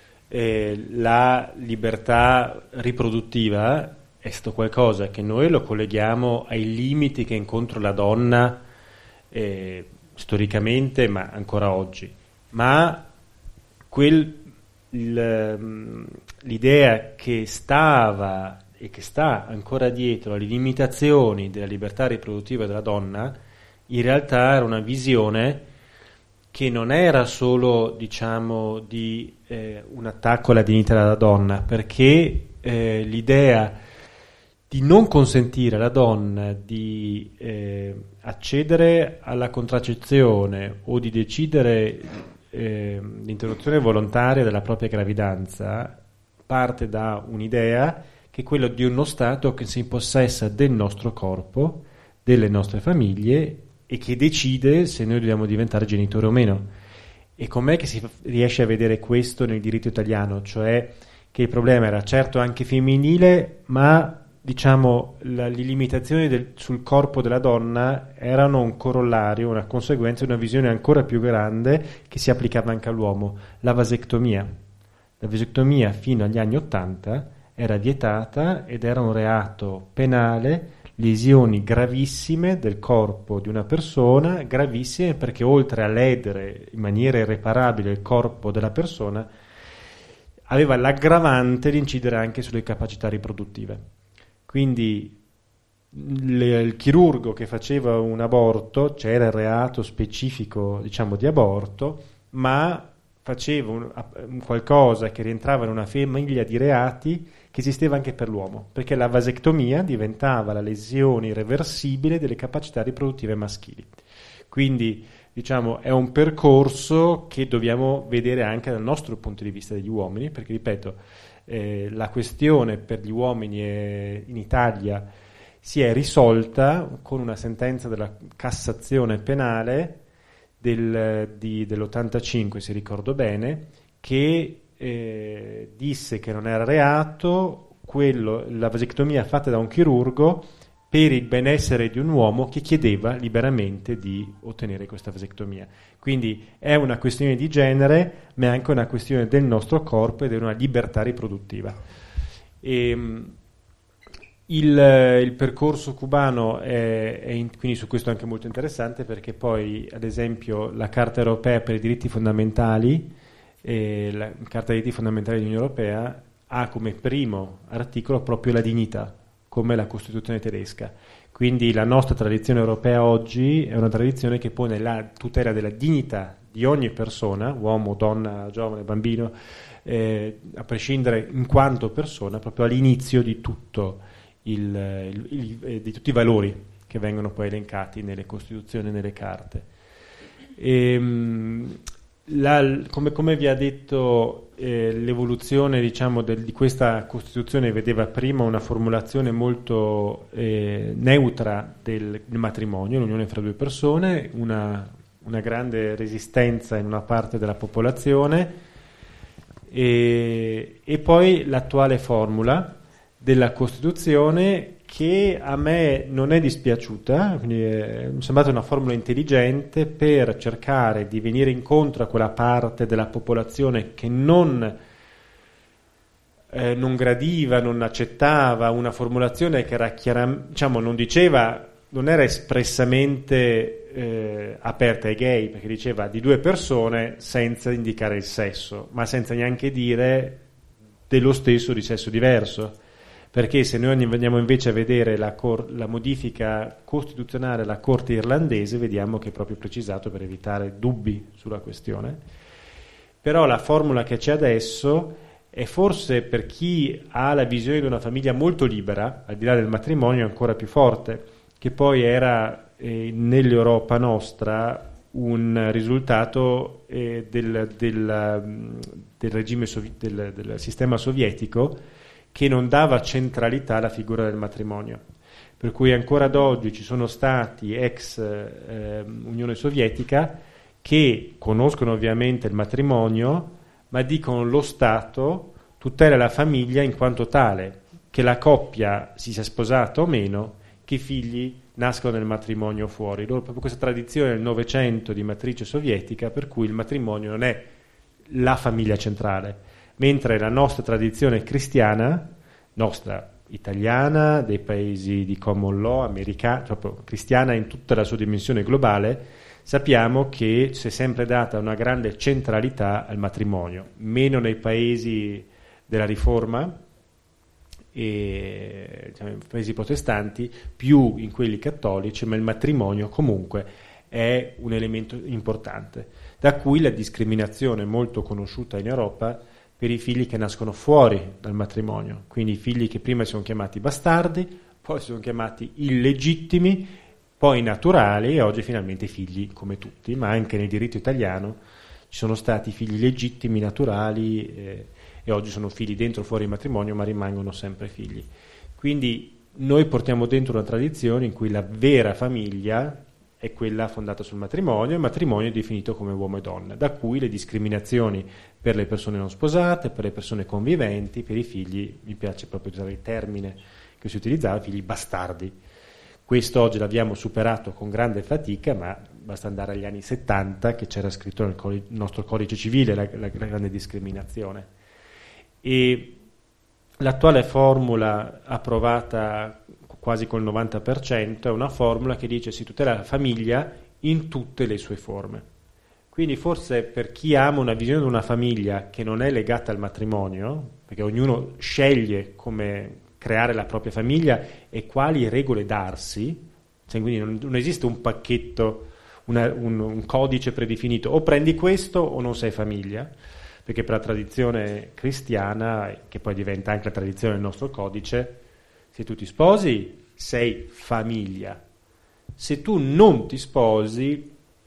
La libertà riproduttiva è stato qualcosa che noi lo colleghiamo ai limiti che incontra la donna storicamente, ma ancora oggi. Ma l'idea che stava e che sta ancora dietro alle limitazioni della libertà riproduttiva della donna, in realtà era una visione che non era solo, diciamo, di un attacco alla dignità della donna, perché l'idea di non consentire alla donna di accedere alla contraccezione o di decidere l'interruzione volontaria della propria gravidanza parte da un'idea che è quella di uno Stato che si impossessa del nostro corpo, delle nostre famiglie, e che decide se noi dobbiamo diventare genitori o meno. E com'è che si riesce a vedere questo nel diritto italiano? Cioè che il problema era certo anche femminile, ma diciamo le limitazioni sul corpo della donna erano un corollario, una conseguenza di una visione ancora più grande che si applicava anche all'uomo, la vasectomia. La vasectomia fino agli anni '80 era vietata ed era un reato penale, lesioni gravissime del corpo di una persona, gravissime perché oltre a ledere in maniera irreparabile il corpo della persona, aveva l'aggravante di incidere anche sulle capacità riproduttive. Quindi il chirurgo che faceva un aborto, c'era il reato specifico, diciamo, di aborto, ma faceva un qualcosa che rientrava in una famiglia di reati che esisteva anche per l'uomo, perché la vasectomia diventava la lesione irreversibile delle capacità riproduttive maschili. Quindi, diciamo, è un percorso che dobbiamo vedere anche dal nostro punto di vista degli uomini, perché, ripeto, la questione per gli uomini in Italia si è risolta con una sentenza della Cassazione penale dell'85, se ricordo bene, che disse che non era reato la vasectomia fatta da un chirurgo per il benessere di un uomo che chiedeva liberamente di ottenere questa vasectomia. Quindi è una questione di genere, ma è anche una questione del nostro corpo ed è una libertà riproduttiva. Il percorso cubano quindi su questo è anche molto interessante, perché poi, ad esempio, la Carta Europea per i diritti fondamentali, la Carta dei diritti fondamentali dell'Unione Europea ha come primo articolo proprio la dignità, come la Costituzione tedesca. Quindi la nostra tradizione europea oggi è una tradizione che pone la tutela della dignità di ogni persona, uomo, donna, giovane, bambino, a prescindere in quanto persona, proprio all'inizio di tutto di tutti i valori che vengono poi elencati nelle Costituzioni e nelle carte. come vi ha detto, l'evoluzione diciamo di questa Costituzione vedeva prima una formulazione molto neutra del matrimonio, l'unione fra due persone, una grande resistenza in una parte della popolazione e poi l'attuale formula della Costituzione che a me non è dispiaciuta, quindi mi è sembrata una formula intelligente per cercare di venire incontro a quella parte della popolazione che non gradiva, non accettava una formulazione che era diciamo, non era espressamente aperta ai gay, perché diceva di due persone senza indicare il sesso, ma senza neanche dire dello stesso di sesso diverso. Perché se noi andiamo invece a vedere la modifica costituzionale alla Corte irlandese, vediamo che è proprio precisato per evitare dubbi sulla questione. Però la formula che c'è adesso è forse per chi ha la visione di una famiglia molto libera, al di là del matrimonio, ancora più forte, che poi era nell'Europa nostra un risultato del regime del sistema sovietico, che non dava centralità alla figura del matrimonio, per cui ancora ad oggi ci sono stati ex Unione Sovietica che conoscono ovviamente il matrimonio, ma dicono lo Stato tutela la famiglia in quanto tale, che la coppia si sia sposata o meno, che i figli nascono nel matrimonio fuori. Loro proprio questa tradizione del Novecento di matrice sovietica, per cui il matrimonio non è la famiglia centrale, mentre la nostra tradizione cristiana, nostra italiana, dei paesi di common law, americana, proprio cristiana in tutta la sua dimensione globale, sappiamo che si è sempre data una grande centralità al matrimonio, meno nei paesi della Riforma e diciamo, paesi protestanti, più in quelli cattolici, ma il matrimonio comunque è un elemento importante, da cui la discriminazione molto conosciuta in Europa per i figli che nascono fuori dal matrimonio, quindi i figli che prima si sono chiamati bastardi, poi si sono chiamati illegittimi, poi naturali e oggi finalmente figli come tutti, ma anche nel diritto italiano ci sono stati figli legittimi, naturali e oggi sono figli dentro o fuori il matrimonio, ma rimangono sempre figli. Quindi noi portiamo dentro una tradizione in cui la vera famiglia è quella fondata sul matrimonio, il matrimonio è definito come uomo e donna, da cui le discriminazioni per le persone non sposate, per le persone conviventi, per i figli, mi piace proprio usare il termine che si utilizzava, figli bastardi. Questo oggi l'abbiamo superato con grande fatica, ma basta andare agli anni 70 che c'era scritto nel nostro codice civile la grande discriminazione. E l'attuale formula approvata quasi col 90% è una formula che dice si tutela la famiglia in tutte le sue forme. Quindi forse per chi ama una visione di una famiglia che non è legata al matrimonio, perché ognuno sceglie come creare la propria famiglia e quali regole darsi, cioè quindi non esiste un pacchetto, un codice predefinito, o prendi questo o non sei famiglia, perché per la tradizione cristiana, che poi diventa anche la tradizione del nostro codice, se tu ti sposi sei famiglia, se tu non ti sposi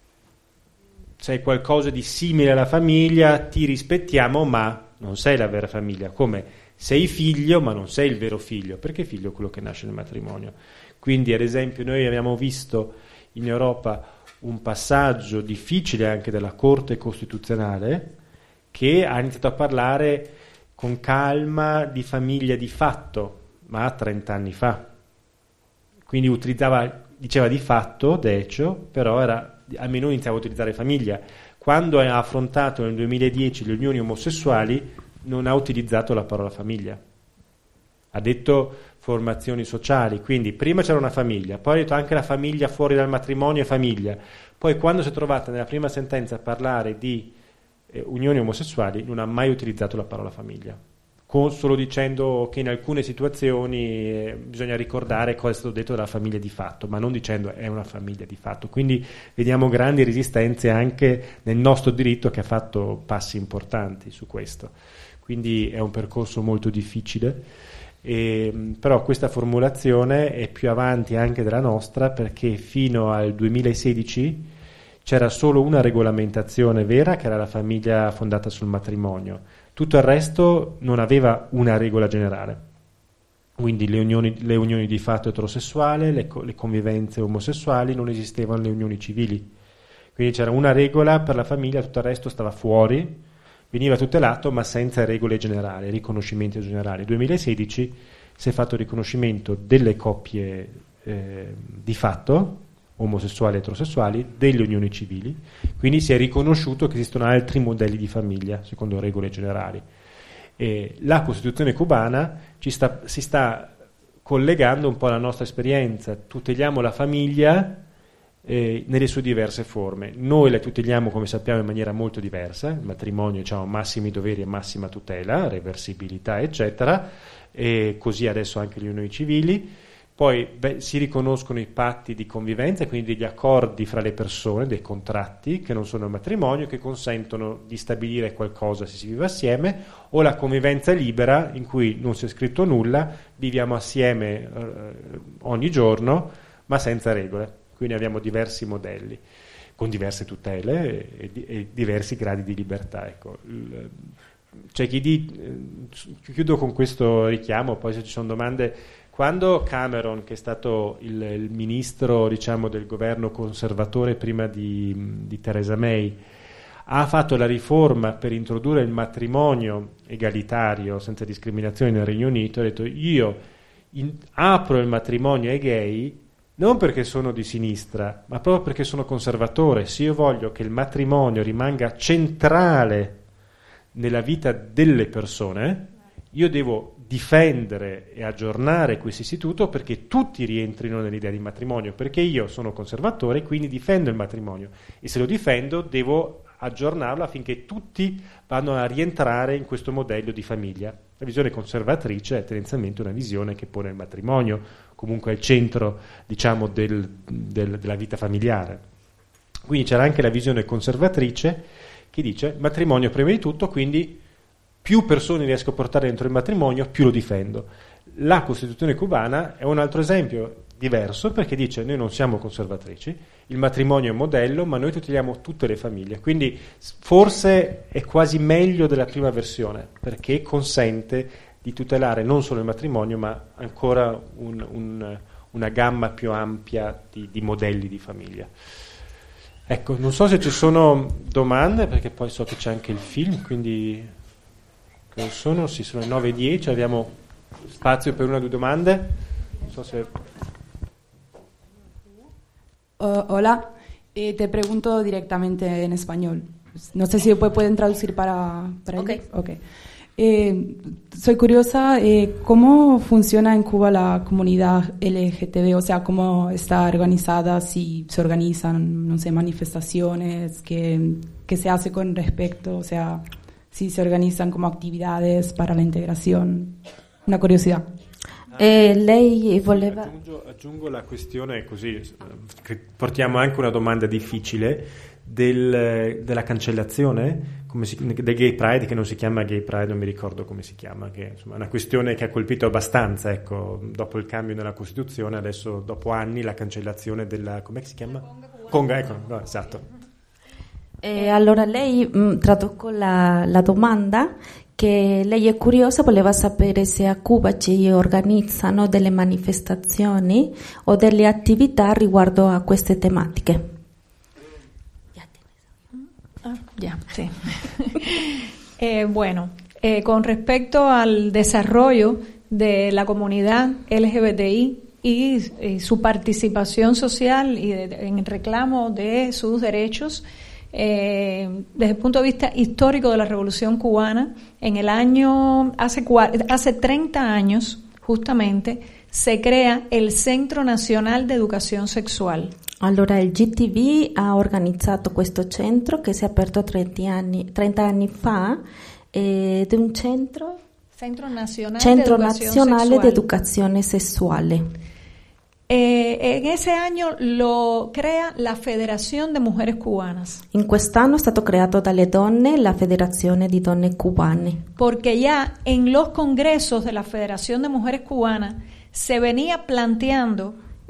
sei qualcosa di simile alla famiglia, ti rispettiamo ma non sei la vera famiglia, come sei figlio ma non sei il vero figlio, perché figlio è quello che nasce nel matrimonio. Quindi ad esempio noi abbiamo visto in Europa un passaggio difficile anche della Corte Costituzionale che ha iniziato a parlare con calma di famiglia di fatto, ma 30 anni fa. Quindi diceva di fatto, decio, però almeno iniziava a utilizzare famiglia. Quando ha affrontato nel 2010 le unioni omosessuali non ha utilizzato la parola famiglia. Ha detto formazioni sociali, quindi prima c'era una famiglia, poi ha detto anche la famiglia fuori dal matrimonio è famiglia. Poi quando si è trovata nella prima sentenza a parlare di unioni omosessuali non ha mai utilizzato la parola famiglia, solo dicendo che in alcune situazioni bisogna ricordare cosa è stato detto dalla famiglia di fatto, ma non dicendo è una famiglia di fatto. Quindi vediamo grandi resistenze anche nel nostro diritto che ha fatto passi importanti su questo. Quindi è un percorso molto difficile, però questa formulazione è più avanti anche della nostra, perché fino al 2016 c'era solo una regolamentazione vera, che era la famiglia fondata sul matrimonio. Tutto il resto non aveva una regola generale. Quindi le unioni di fatto eterosessuali, le convivenze omosessuali, non esistevano le unioni civili. Quindi c'era una regola per la famiglia, tutto il resto stava fuori, veniva tutelato ma senza regole generali, riconoscimenti generali. Nel 2016 si è fatto il riconoscimento delle coppie di fatto, omosessuali e eterosessuali, delle unioni civili, quindi si è riconosciuto che esistono altri modelli di famiglia secondo regole generali. La Costituzione cubana si sta collegando un po' alla nostra esperienza, tuteliamo la famiglia nelle sue diverse forme. Noi la tuteliamo, come sappiamo, in maniera molto diversa. Il matrimonio, diciamo, massimi doveri e massima tutela, reversibilità eccetera, e così adesso anche le unioni civili. Poi si riconoscono i patti di convivenza, quindi degli accordi fra le persone, dei contratti che non sono il matrimonio, che consentono di stabilire qualcosa se si vive assieme, o la convivenza libera in cui non si è scritto nulla, viviamo assieme ogni giorno ma senza regole. Quindi abbiamo diversi modelli con diverse tutele e diversi gradi di libertà. Ecco. C'è chi chiudo con questo richiamo, poi se ci sono domande. Quando Cameron, che è stato il ministro, diciamo, del governo conservatore prima di Theresa May, ha fatto la riforma per introdurre il matrimonio egalitario senza discriminazioni nel Regno Unito, ha detto: io apro il matrimonio ai gay non perché sono di sinistra, ma proprio perché sono conservatore. Se io voglio che il matrimonio rimanga centrale nella vita delle persone, io devo difendere e aggiornare questo istituto perché tutti rientrino nell'idea di matrimonio, perché io sono conservatore, quindi difendo il matrimonio, e se lo difendo devo aggiornarlo affinché tutti vanno a rientrare in questo modello di famiglia. La visione conservatrice è tendenzialmente una visione che pone il matrimonio comunque al centro, diciamo, della vita familiare. Quindi c'era anche la visione conservatrice che dice: matrimonio prima di tutto, quindi più persone riesco a portare dentro il matrimonio, più lo difendo. La Costituzione cubana è un altro esempio diverso, perché dice: noi non siamo conservatrici, il matrimonio è un modello, ma noi tuteliamo tutte le famiglie. Quindi forse è quasi meglio della prima versione, perché consente di tutelare non solo il matrimonio, ma ancora una gamma più ampia di modelli di famiglia. Ecco, non so se ci sono domande, perché poi so che c'è anche il film, quindi sono le 9:10, abbiamo spazio per una o due domande. Non so se... Hola, te pregunto directamente en español. No sé si pueden traducir para okay. ellos. Okay. Soy curiosa, ¿cómo funciona en Cuba la comunidad LGTB? O sea, ¿cómo está organizada? Si se organizan, no sé, manifestaciones, ¿qué se hace con respecto? O sea, si se organizan como actividades para la integración. Una curiosidad. Lei voleva... Aggiungo la questione, così che portiamo anche una domanda difficile, della cancellazione del Gay Pride, che non si chiama Gay Pride, non mi ricordo come si chiama, che insomma è una questione che ha colpito abbastanza, ecco, dopo il cambio nella Costituzione, adesso dopo anni la cancellazione della, come si chiama? Conga, ecco, no, esatto. Allora lei traduco la domanda, che lei è curiosa, voleva sapere se a Cuba ci organizzano delle manifestazioni o delle attività riguardo a queste tematiche. Sí. Bueno, con respecto al desarrollo de la comunidad LGBTI y su participación social y en el reclamo de sus derechos, desde el punto de vista histórico de la Revolución Cubana, en el año, hace 30 años justamente, se crea el Centro Nacional de Educación Sexual. Allora il GTV ha organizzato questo centro che si è aperto 30 anni fa ed è un centro nazionale di educazione sessuale. En ese año lo crea la Federación de Mujeres Cubanas. In quest'anno è stato creato dalle donne la Federazione di Donne Cubane. Porque ya en los congresos de la Federación de Mujeres Cubanas se venía planteando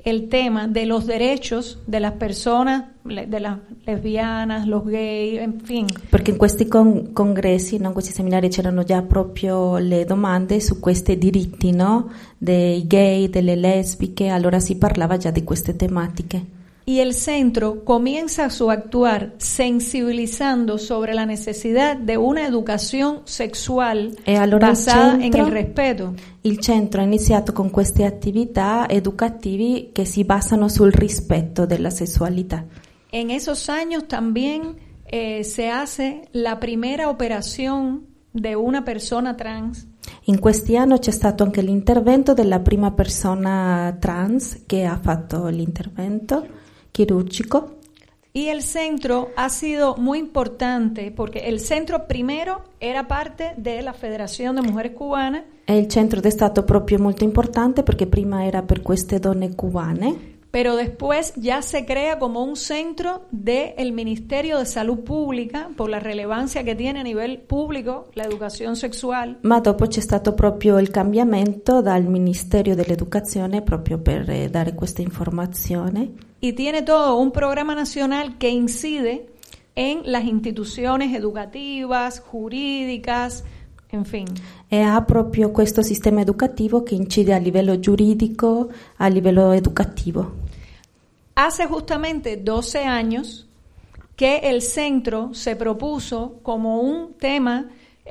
el tema de los derechos de las personas, de las lesbianas, los gays, en fin. Perché in questi congressi, no, in questi seminari c'erano già proprio le domande su questi diritti, no, dei gay, delle lesbiche, allora si parlava già di queste tematiche. Y el centro comienza su actuar sensibilizando sobre la necesidad de una educación sexual allora basada en el respeto. Il centro ha iniziato con queste attività educativi che si basano sul rispetto della sessualità. En esos años también se hace la primera operación de una persona trans. In questi anni c'è stato anche l'intervento della prima persona trans che ha fatto l'intervento quirúrgico. Y el centro ha sido muy importante porque el centro primero era parte de la Federación de Mujeres Cubanas. E il centro è stato proprio molto importante perché prima era per queste donne cubane. Pero después ya se crea como un centro del Ministerio de Salud Pública por la relevancia que tiene a nivel público la educación sexual. Ma dopo c'è stato proprio il cambiamento dal Ministero dell'Educazione proprio per dare questa informazione. Y tiene todo un programa nacional que incide en las instituciones educativas, jurídicas, en fin. E ha proprio questo sistema educativo che incide a livello giuridico, a livello educativo. Hace justamente 12 años que el centro se propuso como un tema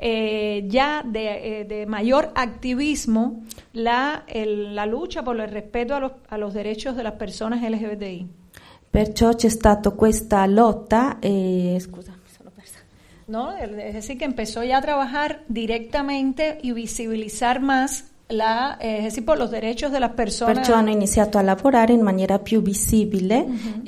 ya de mayor activismo la lucha por el respeto a los derechos de las personas LGBTI. Perciò c'è stata questa lotta scusa, mi sono persa. No, es decir, que empezó ya a trabajar directamente y visibilizar más es decir, por los derechos de las personas. Perciò hanno iniziato a lavorare in maniera più visibile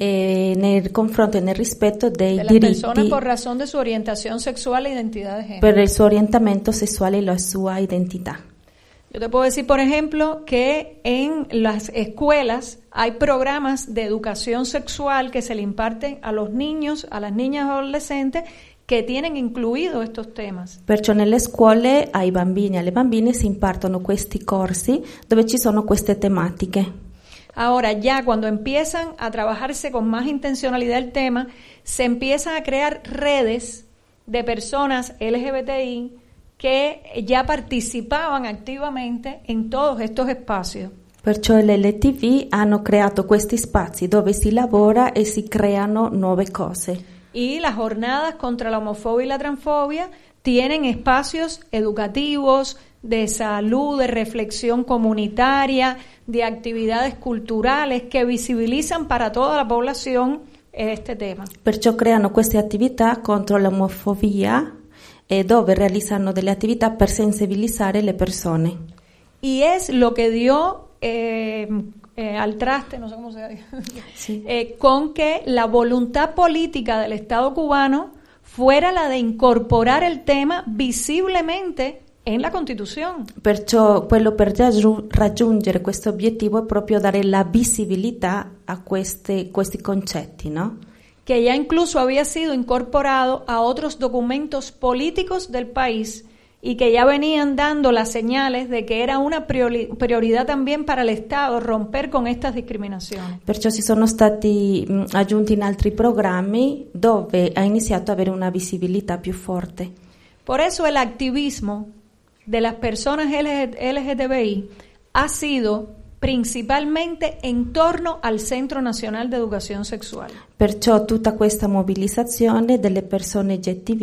nel confronto e nel rispetto dei de diritti las personas por razón de su orientación sexual e identidad de género. per il suo orientamento sessuale e la sua identità. Yo te puedo decir, por ejemplo, que en las escuelas hay programas de educación sexual que se le imparten a los niños, a las niñas y adolescentes che tienen incluido estos temas. Perciò nelle scuole ai bambini e alle bambine si impartono questi corsi dove ci sono queste tematiche. Ahora ya cuando empiezan a trabajarse con más intencionalidad el tema, se empiezan a crear redes de personas LGBTI que ya participaban activamente en todos estos espacios. Perciò le LTV hanno creato questi spazi dove si lavora e si creano nuove cose. Y las jornadas contra la homofobia y la transfobia tienen espacios educativos, de salud, de reflexión comunitaria, de actividades culturales que visibilizan para toda la población este tema. Perciò creano queste attività contro l'omofobia dove realizzano delle attività per sensibilizzare le persone. Y es lo que dio al traste, no sé cómo se dice, sí. Con que la voluntad política del Estado cubano fuera la de incorporar el tema visiblemente en la Constitución. Perciò quello per raggiungere questo obiettivo è proprio dare la visibilità a questi concetti, no? Que ya incluso había sido incorporado a otros documentos políticos del país y que ya venían dando las señales de que era una prioridad también para el Estado romper con estas discriminaciones. Perciò si sono stati aggiunti in altri programmi dove ha iniziato ad avere una visibilità più forte. Por eso el activismo de las personas LGTBI ha sido principalmente en torno al Centro Nacional de Educación Sexual. Perciò tutta questa mobilizzazione delle persone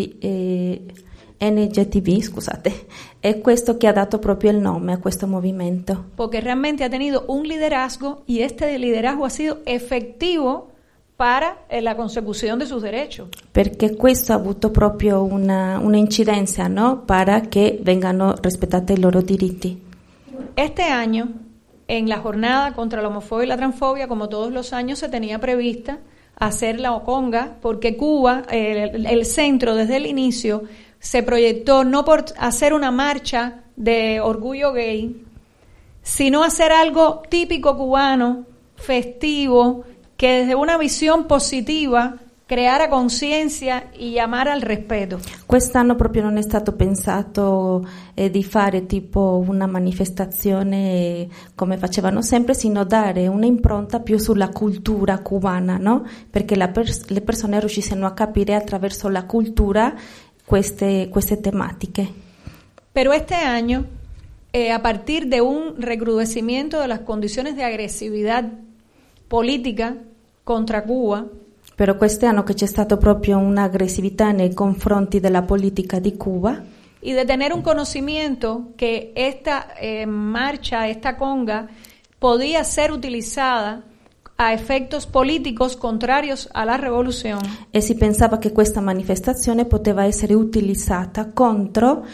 NGTV, scusate, è questo che ha dato proprio il nome a questo movimento. Porque realmente ha tenido un liderazgo y este liderazgo ha sido efectivo para la consecución de sus derechos. Perché questo ha avuto proprio una incidenza, no? Para che vengano rispettati i loro diritti. Este año, en la jornada contra la homofobia y la transfobia, como todos los años, se tenía prevista hacer la Oconga, porque Cuba, el centro desde el inicio, se proyectó no por hacer una marcha de orgullo gay, sino hacer algo típico cubano, festivo, que desde una visión positiva creare conciencia e chiamare al rispetto. Quest'anno proprio non è stato pensato di fare tipo una manifestazione come facevano sempre, sino dare un'impronta più sulla cultura cubana, no? Perché le persone riuscissero a capire attraverso la cultura queste tematiche. Pero este año, a partir de un recrudecimiento de las condiciones de agresividad política contra Cuba, Però quest'anno che c'è stato proprio un'aggressività nei confronti della politica di Cuba y de tener un conocimiento que esta marcha, esta conga, podía ser utilizada a efectos políticos contrarios a la revolución. e si pensava che questa manifestazione poteva essere utilizzata contro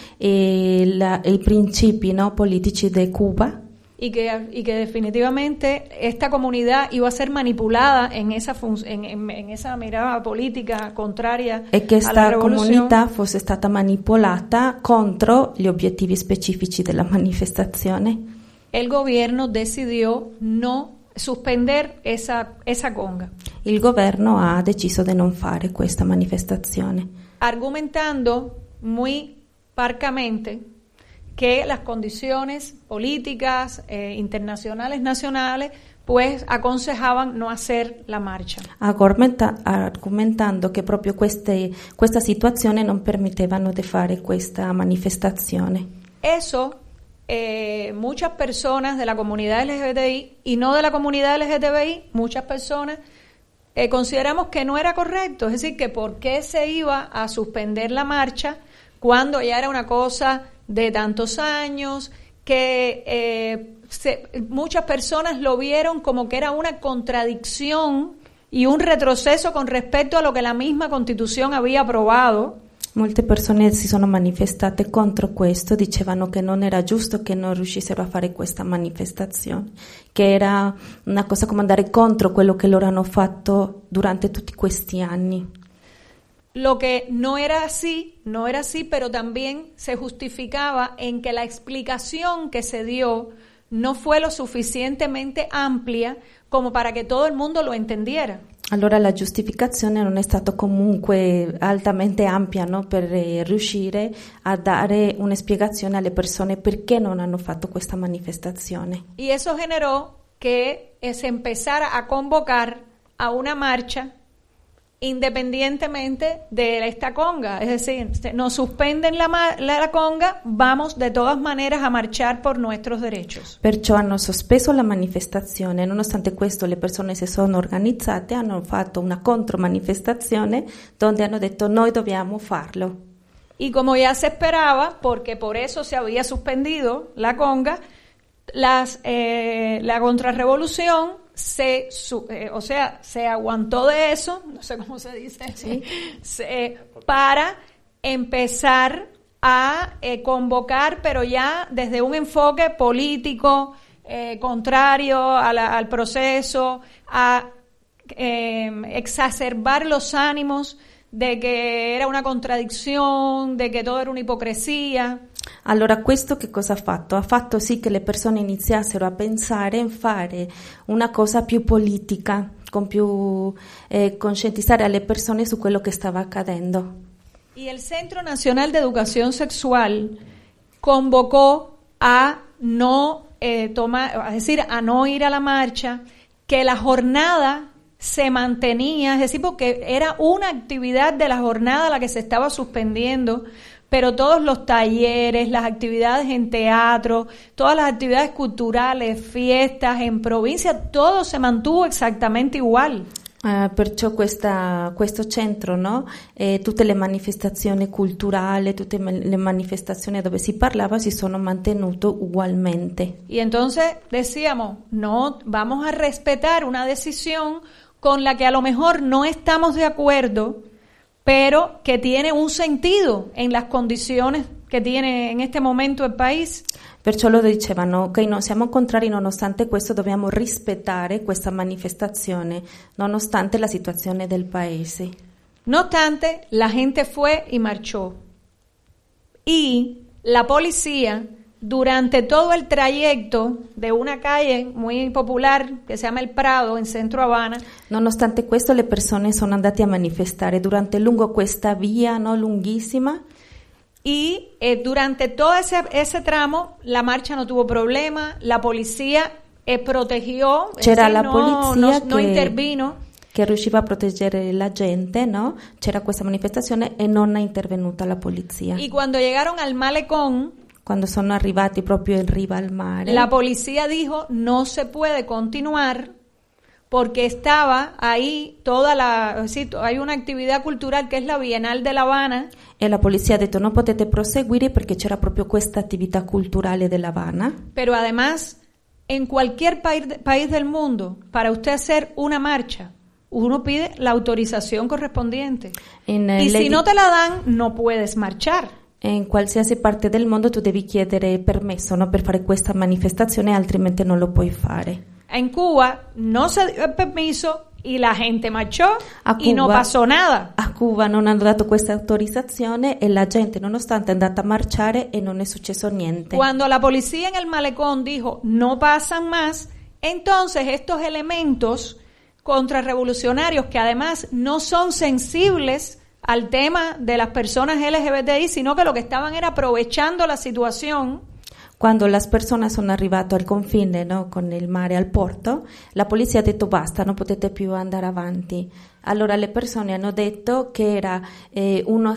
i principi, no, politici di Cuba. Y que definitivamente esta comunidad iba a ser manipulada en esa en esa mirada política contraria E che a la questa revolución. comunità fosse stata manipolata contro gli obiettivi specifici della manifestazione. El gobierno decidió no suspender esa conga, Il governo ha deciso di non fare questa manifestazione, argumentando muy parcamente que las condiciones políticas internacionales, nacionales, pues aconsejaban no hacer la marcha. argomentando che proprio questa situazione non permettevano di fare questa manifestazione. Eso, muchas personas de la comunidad LGBTI y no de la comunidad LGTBI, muchas personas consideramos que no era correcto, es decir, que por qué se iba a suspender la marcha cuando ya era una cosa de tantos años, que muchas personas lo vieron como que era una contradicción y un retroceso con respecto a lo que la misma Constitución había aprobado. Molte persone si sono manifestate contro questo, dicevano che non era giusto che non riuscissero a fare questa manifestazione, che era una cosa come andare contro quello che loro hanno fatto durante tutti questi anni. Lo que no era así, pero también se justificaba en que la explicación que se dio no fue lo suficientemente amplia como para que todo el mundo lo entendiera. Allora la giustificazione non è stata comunque altamente ampia, no? Per riuscire a dare una spiegazione alle persone perché non hanno fatto questa manifestazione. Y eso generó que se empezara a convocar a una marcha independientemente de esta conga, es decir, nos suspenden la conga, vamos de todas maneras a marchar por nuestros derechos. Perciò hanno sospeso la manifestazione, nonostante questo le persone si sono organizzate, hanno fatto una contromanifestazione dove hanno detto noi dobbiamo farlo. Y como ya se esperaba, porque por eso se había suspendido la conga, la contrarrevolución se aguantó de eso, no sé cómo se dice, ¿sí? Para empezar a convocar, pero ya desde un enfoque político contrario al proceso, a exacerbar los ánimos de que era una contraddizione, de che todo era un'ipocrisia. Allora questo che cosa ha fatto? Ha fatto sì che le persone iniziassero a pensare in fare una cosa più politica, con più conscientizzare alle persone su quello che stava accadendo. Y el Centro Nacional de Educación Sexual convocó a no a no ir a la marcha, que la jornada se mantenía, es decir, porque era una actividad de la jornada la que se estaba suspendiendo, pero todos los talleres, las actividades en teatro, todas las actividades culturales, fiestas en provincia, todo se mantuvo exactamente igual. Perciò questo centro, no? Tutte le manifestazioni culturali, tutte le manifestazioni dove si parlava si sono mantenute ugualmente. Y entonces decíamos, no, vamos a respetar una decisión con la que a lo mejor no estamos de acuerdo, pero que tiene un sentido en las condiciones che tiene in este momento il paese. Perciò loro dicevano, ok, non siamo contrari, nonostante questo dobbiamo rispettare questa manifestazione, nonostante la situazione del paese. No obstante, la gente fue y marchó. Y la policía durante todo el trayecto de una calle muy popular che si chiama Il Prado in centro Habana. Nonostante questo le persone sono andate a manifestare lungo questa via, no, lunghissima. Y durante todo ese tramo la marcha no tuvo problema, la policía protegió, c'era la polizia no intervino. Che riusciva a proteggere la gente, no? C'era questa manifestazione e non è intervenuta la polizia. Y cuando llegaron al malecón, quando sono arrivati proprio in riva al mare, la policía dijo no se puede continuar porque estaba ahí hay una actividad cultural que es la Bienal de La Habana. E la polizia ha detto non potete proseguire perché c'era proprio questa attività culturale della Habana. Pero además, en cualquier país del mundo, para usted hacer una marcha, uno pide la autorización correspondiente. Y si no te la dan, no puedes marchar. In qualsiasi parte del mondo tu devi chiedere permesso, no, per fare questa manifestazione, altrimenti non lo puoi fare. En Cuba no se dio el permiso y la gente marchó y no pasó nada. A Cuba non hanno dato questa autorizzazione e la gente nonostante è andata a marciare e non è successo niente. Cuando la policía en el malecón dijo no pasan más, entonces estos elementos contrarrevolucionarios que además no son sensibles al tema de las personas LGBTI, sino que lo que estaban era aprovechando la situación. Quando le persone sono arrivate al confine, no, con il mare al porto, la polizia ha detto basta, non potete più andare avanti. Allora le persone hanno detto che era una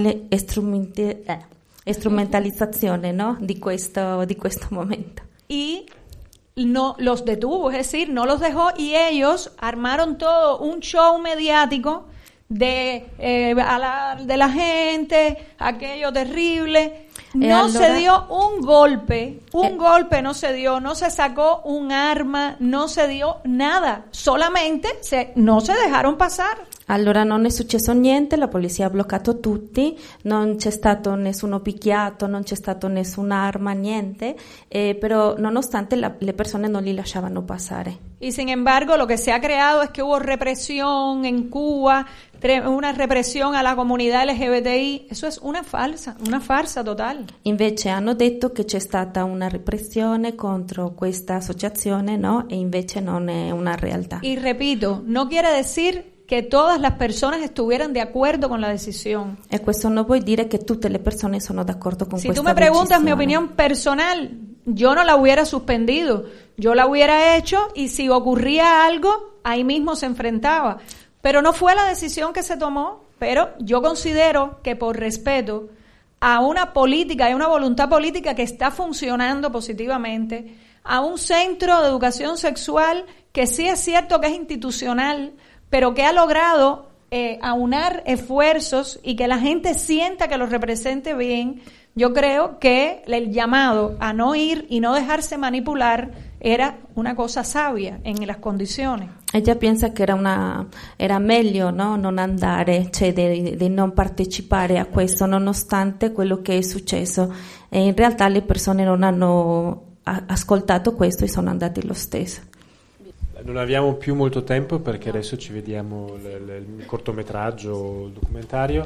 strumentalizzazione, no, di questo momento. Y no los detuvo, es decir, no los dejó y ellos armaron todo un show mediático de la gente, aquello terrible. No se dio un golpe no se dio, no se sacó un arma, no se dio nada, solamente no se dejaron pasar. Allora non è successo niente, la polizia ha bloccato tutti, non c'è stato nessuno picchiato, non c'è stato nessuna niente, però nonostante le persone non li lasciavano passare. Y sin embargo, lo que se ha creado es que hubo represión en Cuba, una represión a la comunidad LGBTI. Eso es una farsa total. Invece hanno detto che c'è stata una repressione contro questa associazione, no? E invece non è una realtà. Y repito, no quiere decir que todas las personas estuvieran de acuerdo con la decisión. E questo non vuol dire che tutte le persone sono d'accordo con questa decisione. Si tú me preguntas mi opinión personal, yo no la hubiera suspendido, yo la hubiera hecho y si ocurría algo, ahí mismo se enfrentaba. Pero no fue la decisión que se tomó, pero yo considero que por respeto a una política y una voluntad política que está funcionando positivamente, a un centro de educación sexual que sí es cierto que es institucional, pero que ha logrado aunar esfuerzos y que la gente sienta que lo represente bien, yo creo que el llamado a no ir y no dejarse manipular era una cosa sabia en las condiciones. Ella pensa che era meglio, no, non andare, cioè di non partecipare a questo nonostante quello che è successo. E in realtà le persone non hanno ascoltato questo e sono andati lo stesso. Non abbiamo più molto tempo perché adesso ci vediamo il cortometraggio, il documentario,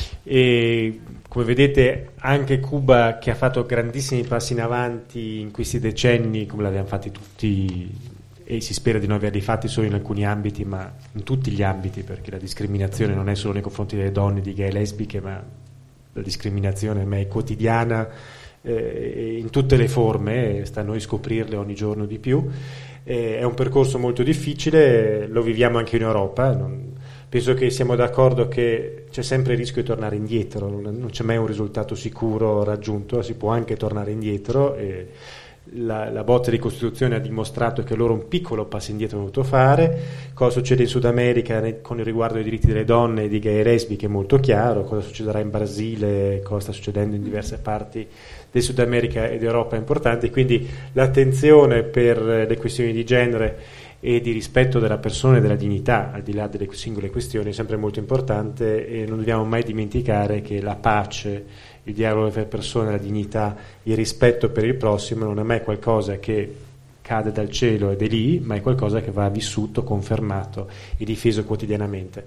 e come vedete anche Cuba, che ha fatto grandissimi passi in avanti in questi decenni, come l'abbiamo fatti tutti, e si spera di non averli fatti solo in alcuni ambiti, ma in tutti gli ambiti, perché la discriminazione non è solo nei confronti delle donne, di gay e lesbiche, ma la discriminazione è quotidiana in tutte le forme, sta a noi scoprirle ogni giorno di più. È un percorso molto difficile, lo viviamo anche in Europa, penso che siamo d'accordo che c'è sempre il rischio di tornare indietro, non c'è mai un risultato sicuro raggiunto, si può anche tornare indietro, e la botta di Costituzione ha dimostrato che loro un piccolo passo indietro hanno dovuto fare. Cosa succede in Sud America con il riguardo ai diritti delle donne e di gay e lesbiche è molto chiaro, cosa succederà in Brasile, cosa sta succedendo in diverse parti del Sud America ed Europa è importante, quindi l'attenzione per le questioni di genere e di rispetto della persona e della dignità, al di là delle singole questioni, è sempre molto importante, e non dobbiamo mai dimenticare che la pace, il dialogo tra le persone, la dignità, il rispetto per il prossimo non è mai qualcosa che cade dal cielo ed è lì, ma è qualcosa che va vissuto, confermato e difeso quotidianamente.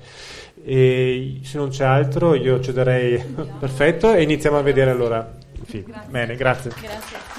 E se non c'è altro io ci darei perfetto e iniziamo a vedere allora il film. Bene, grazie.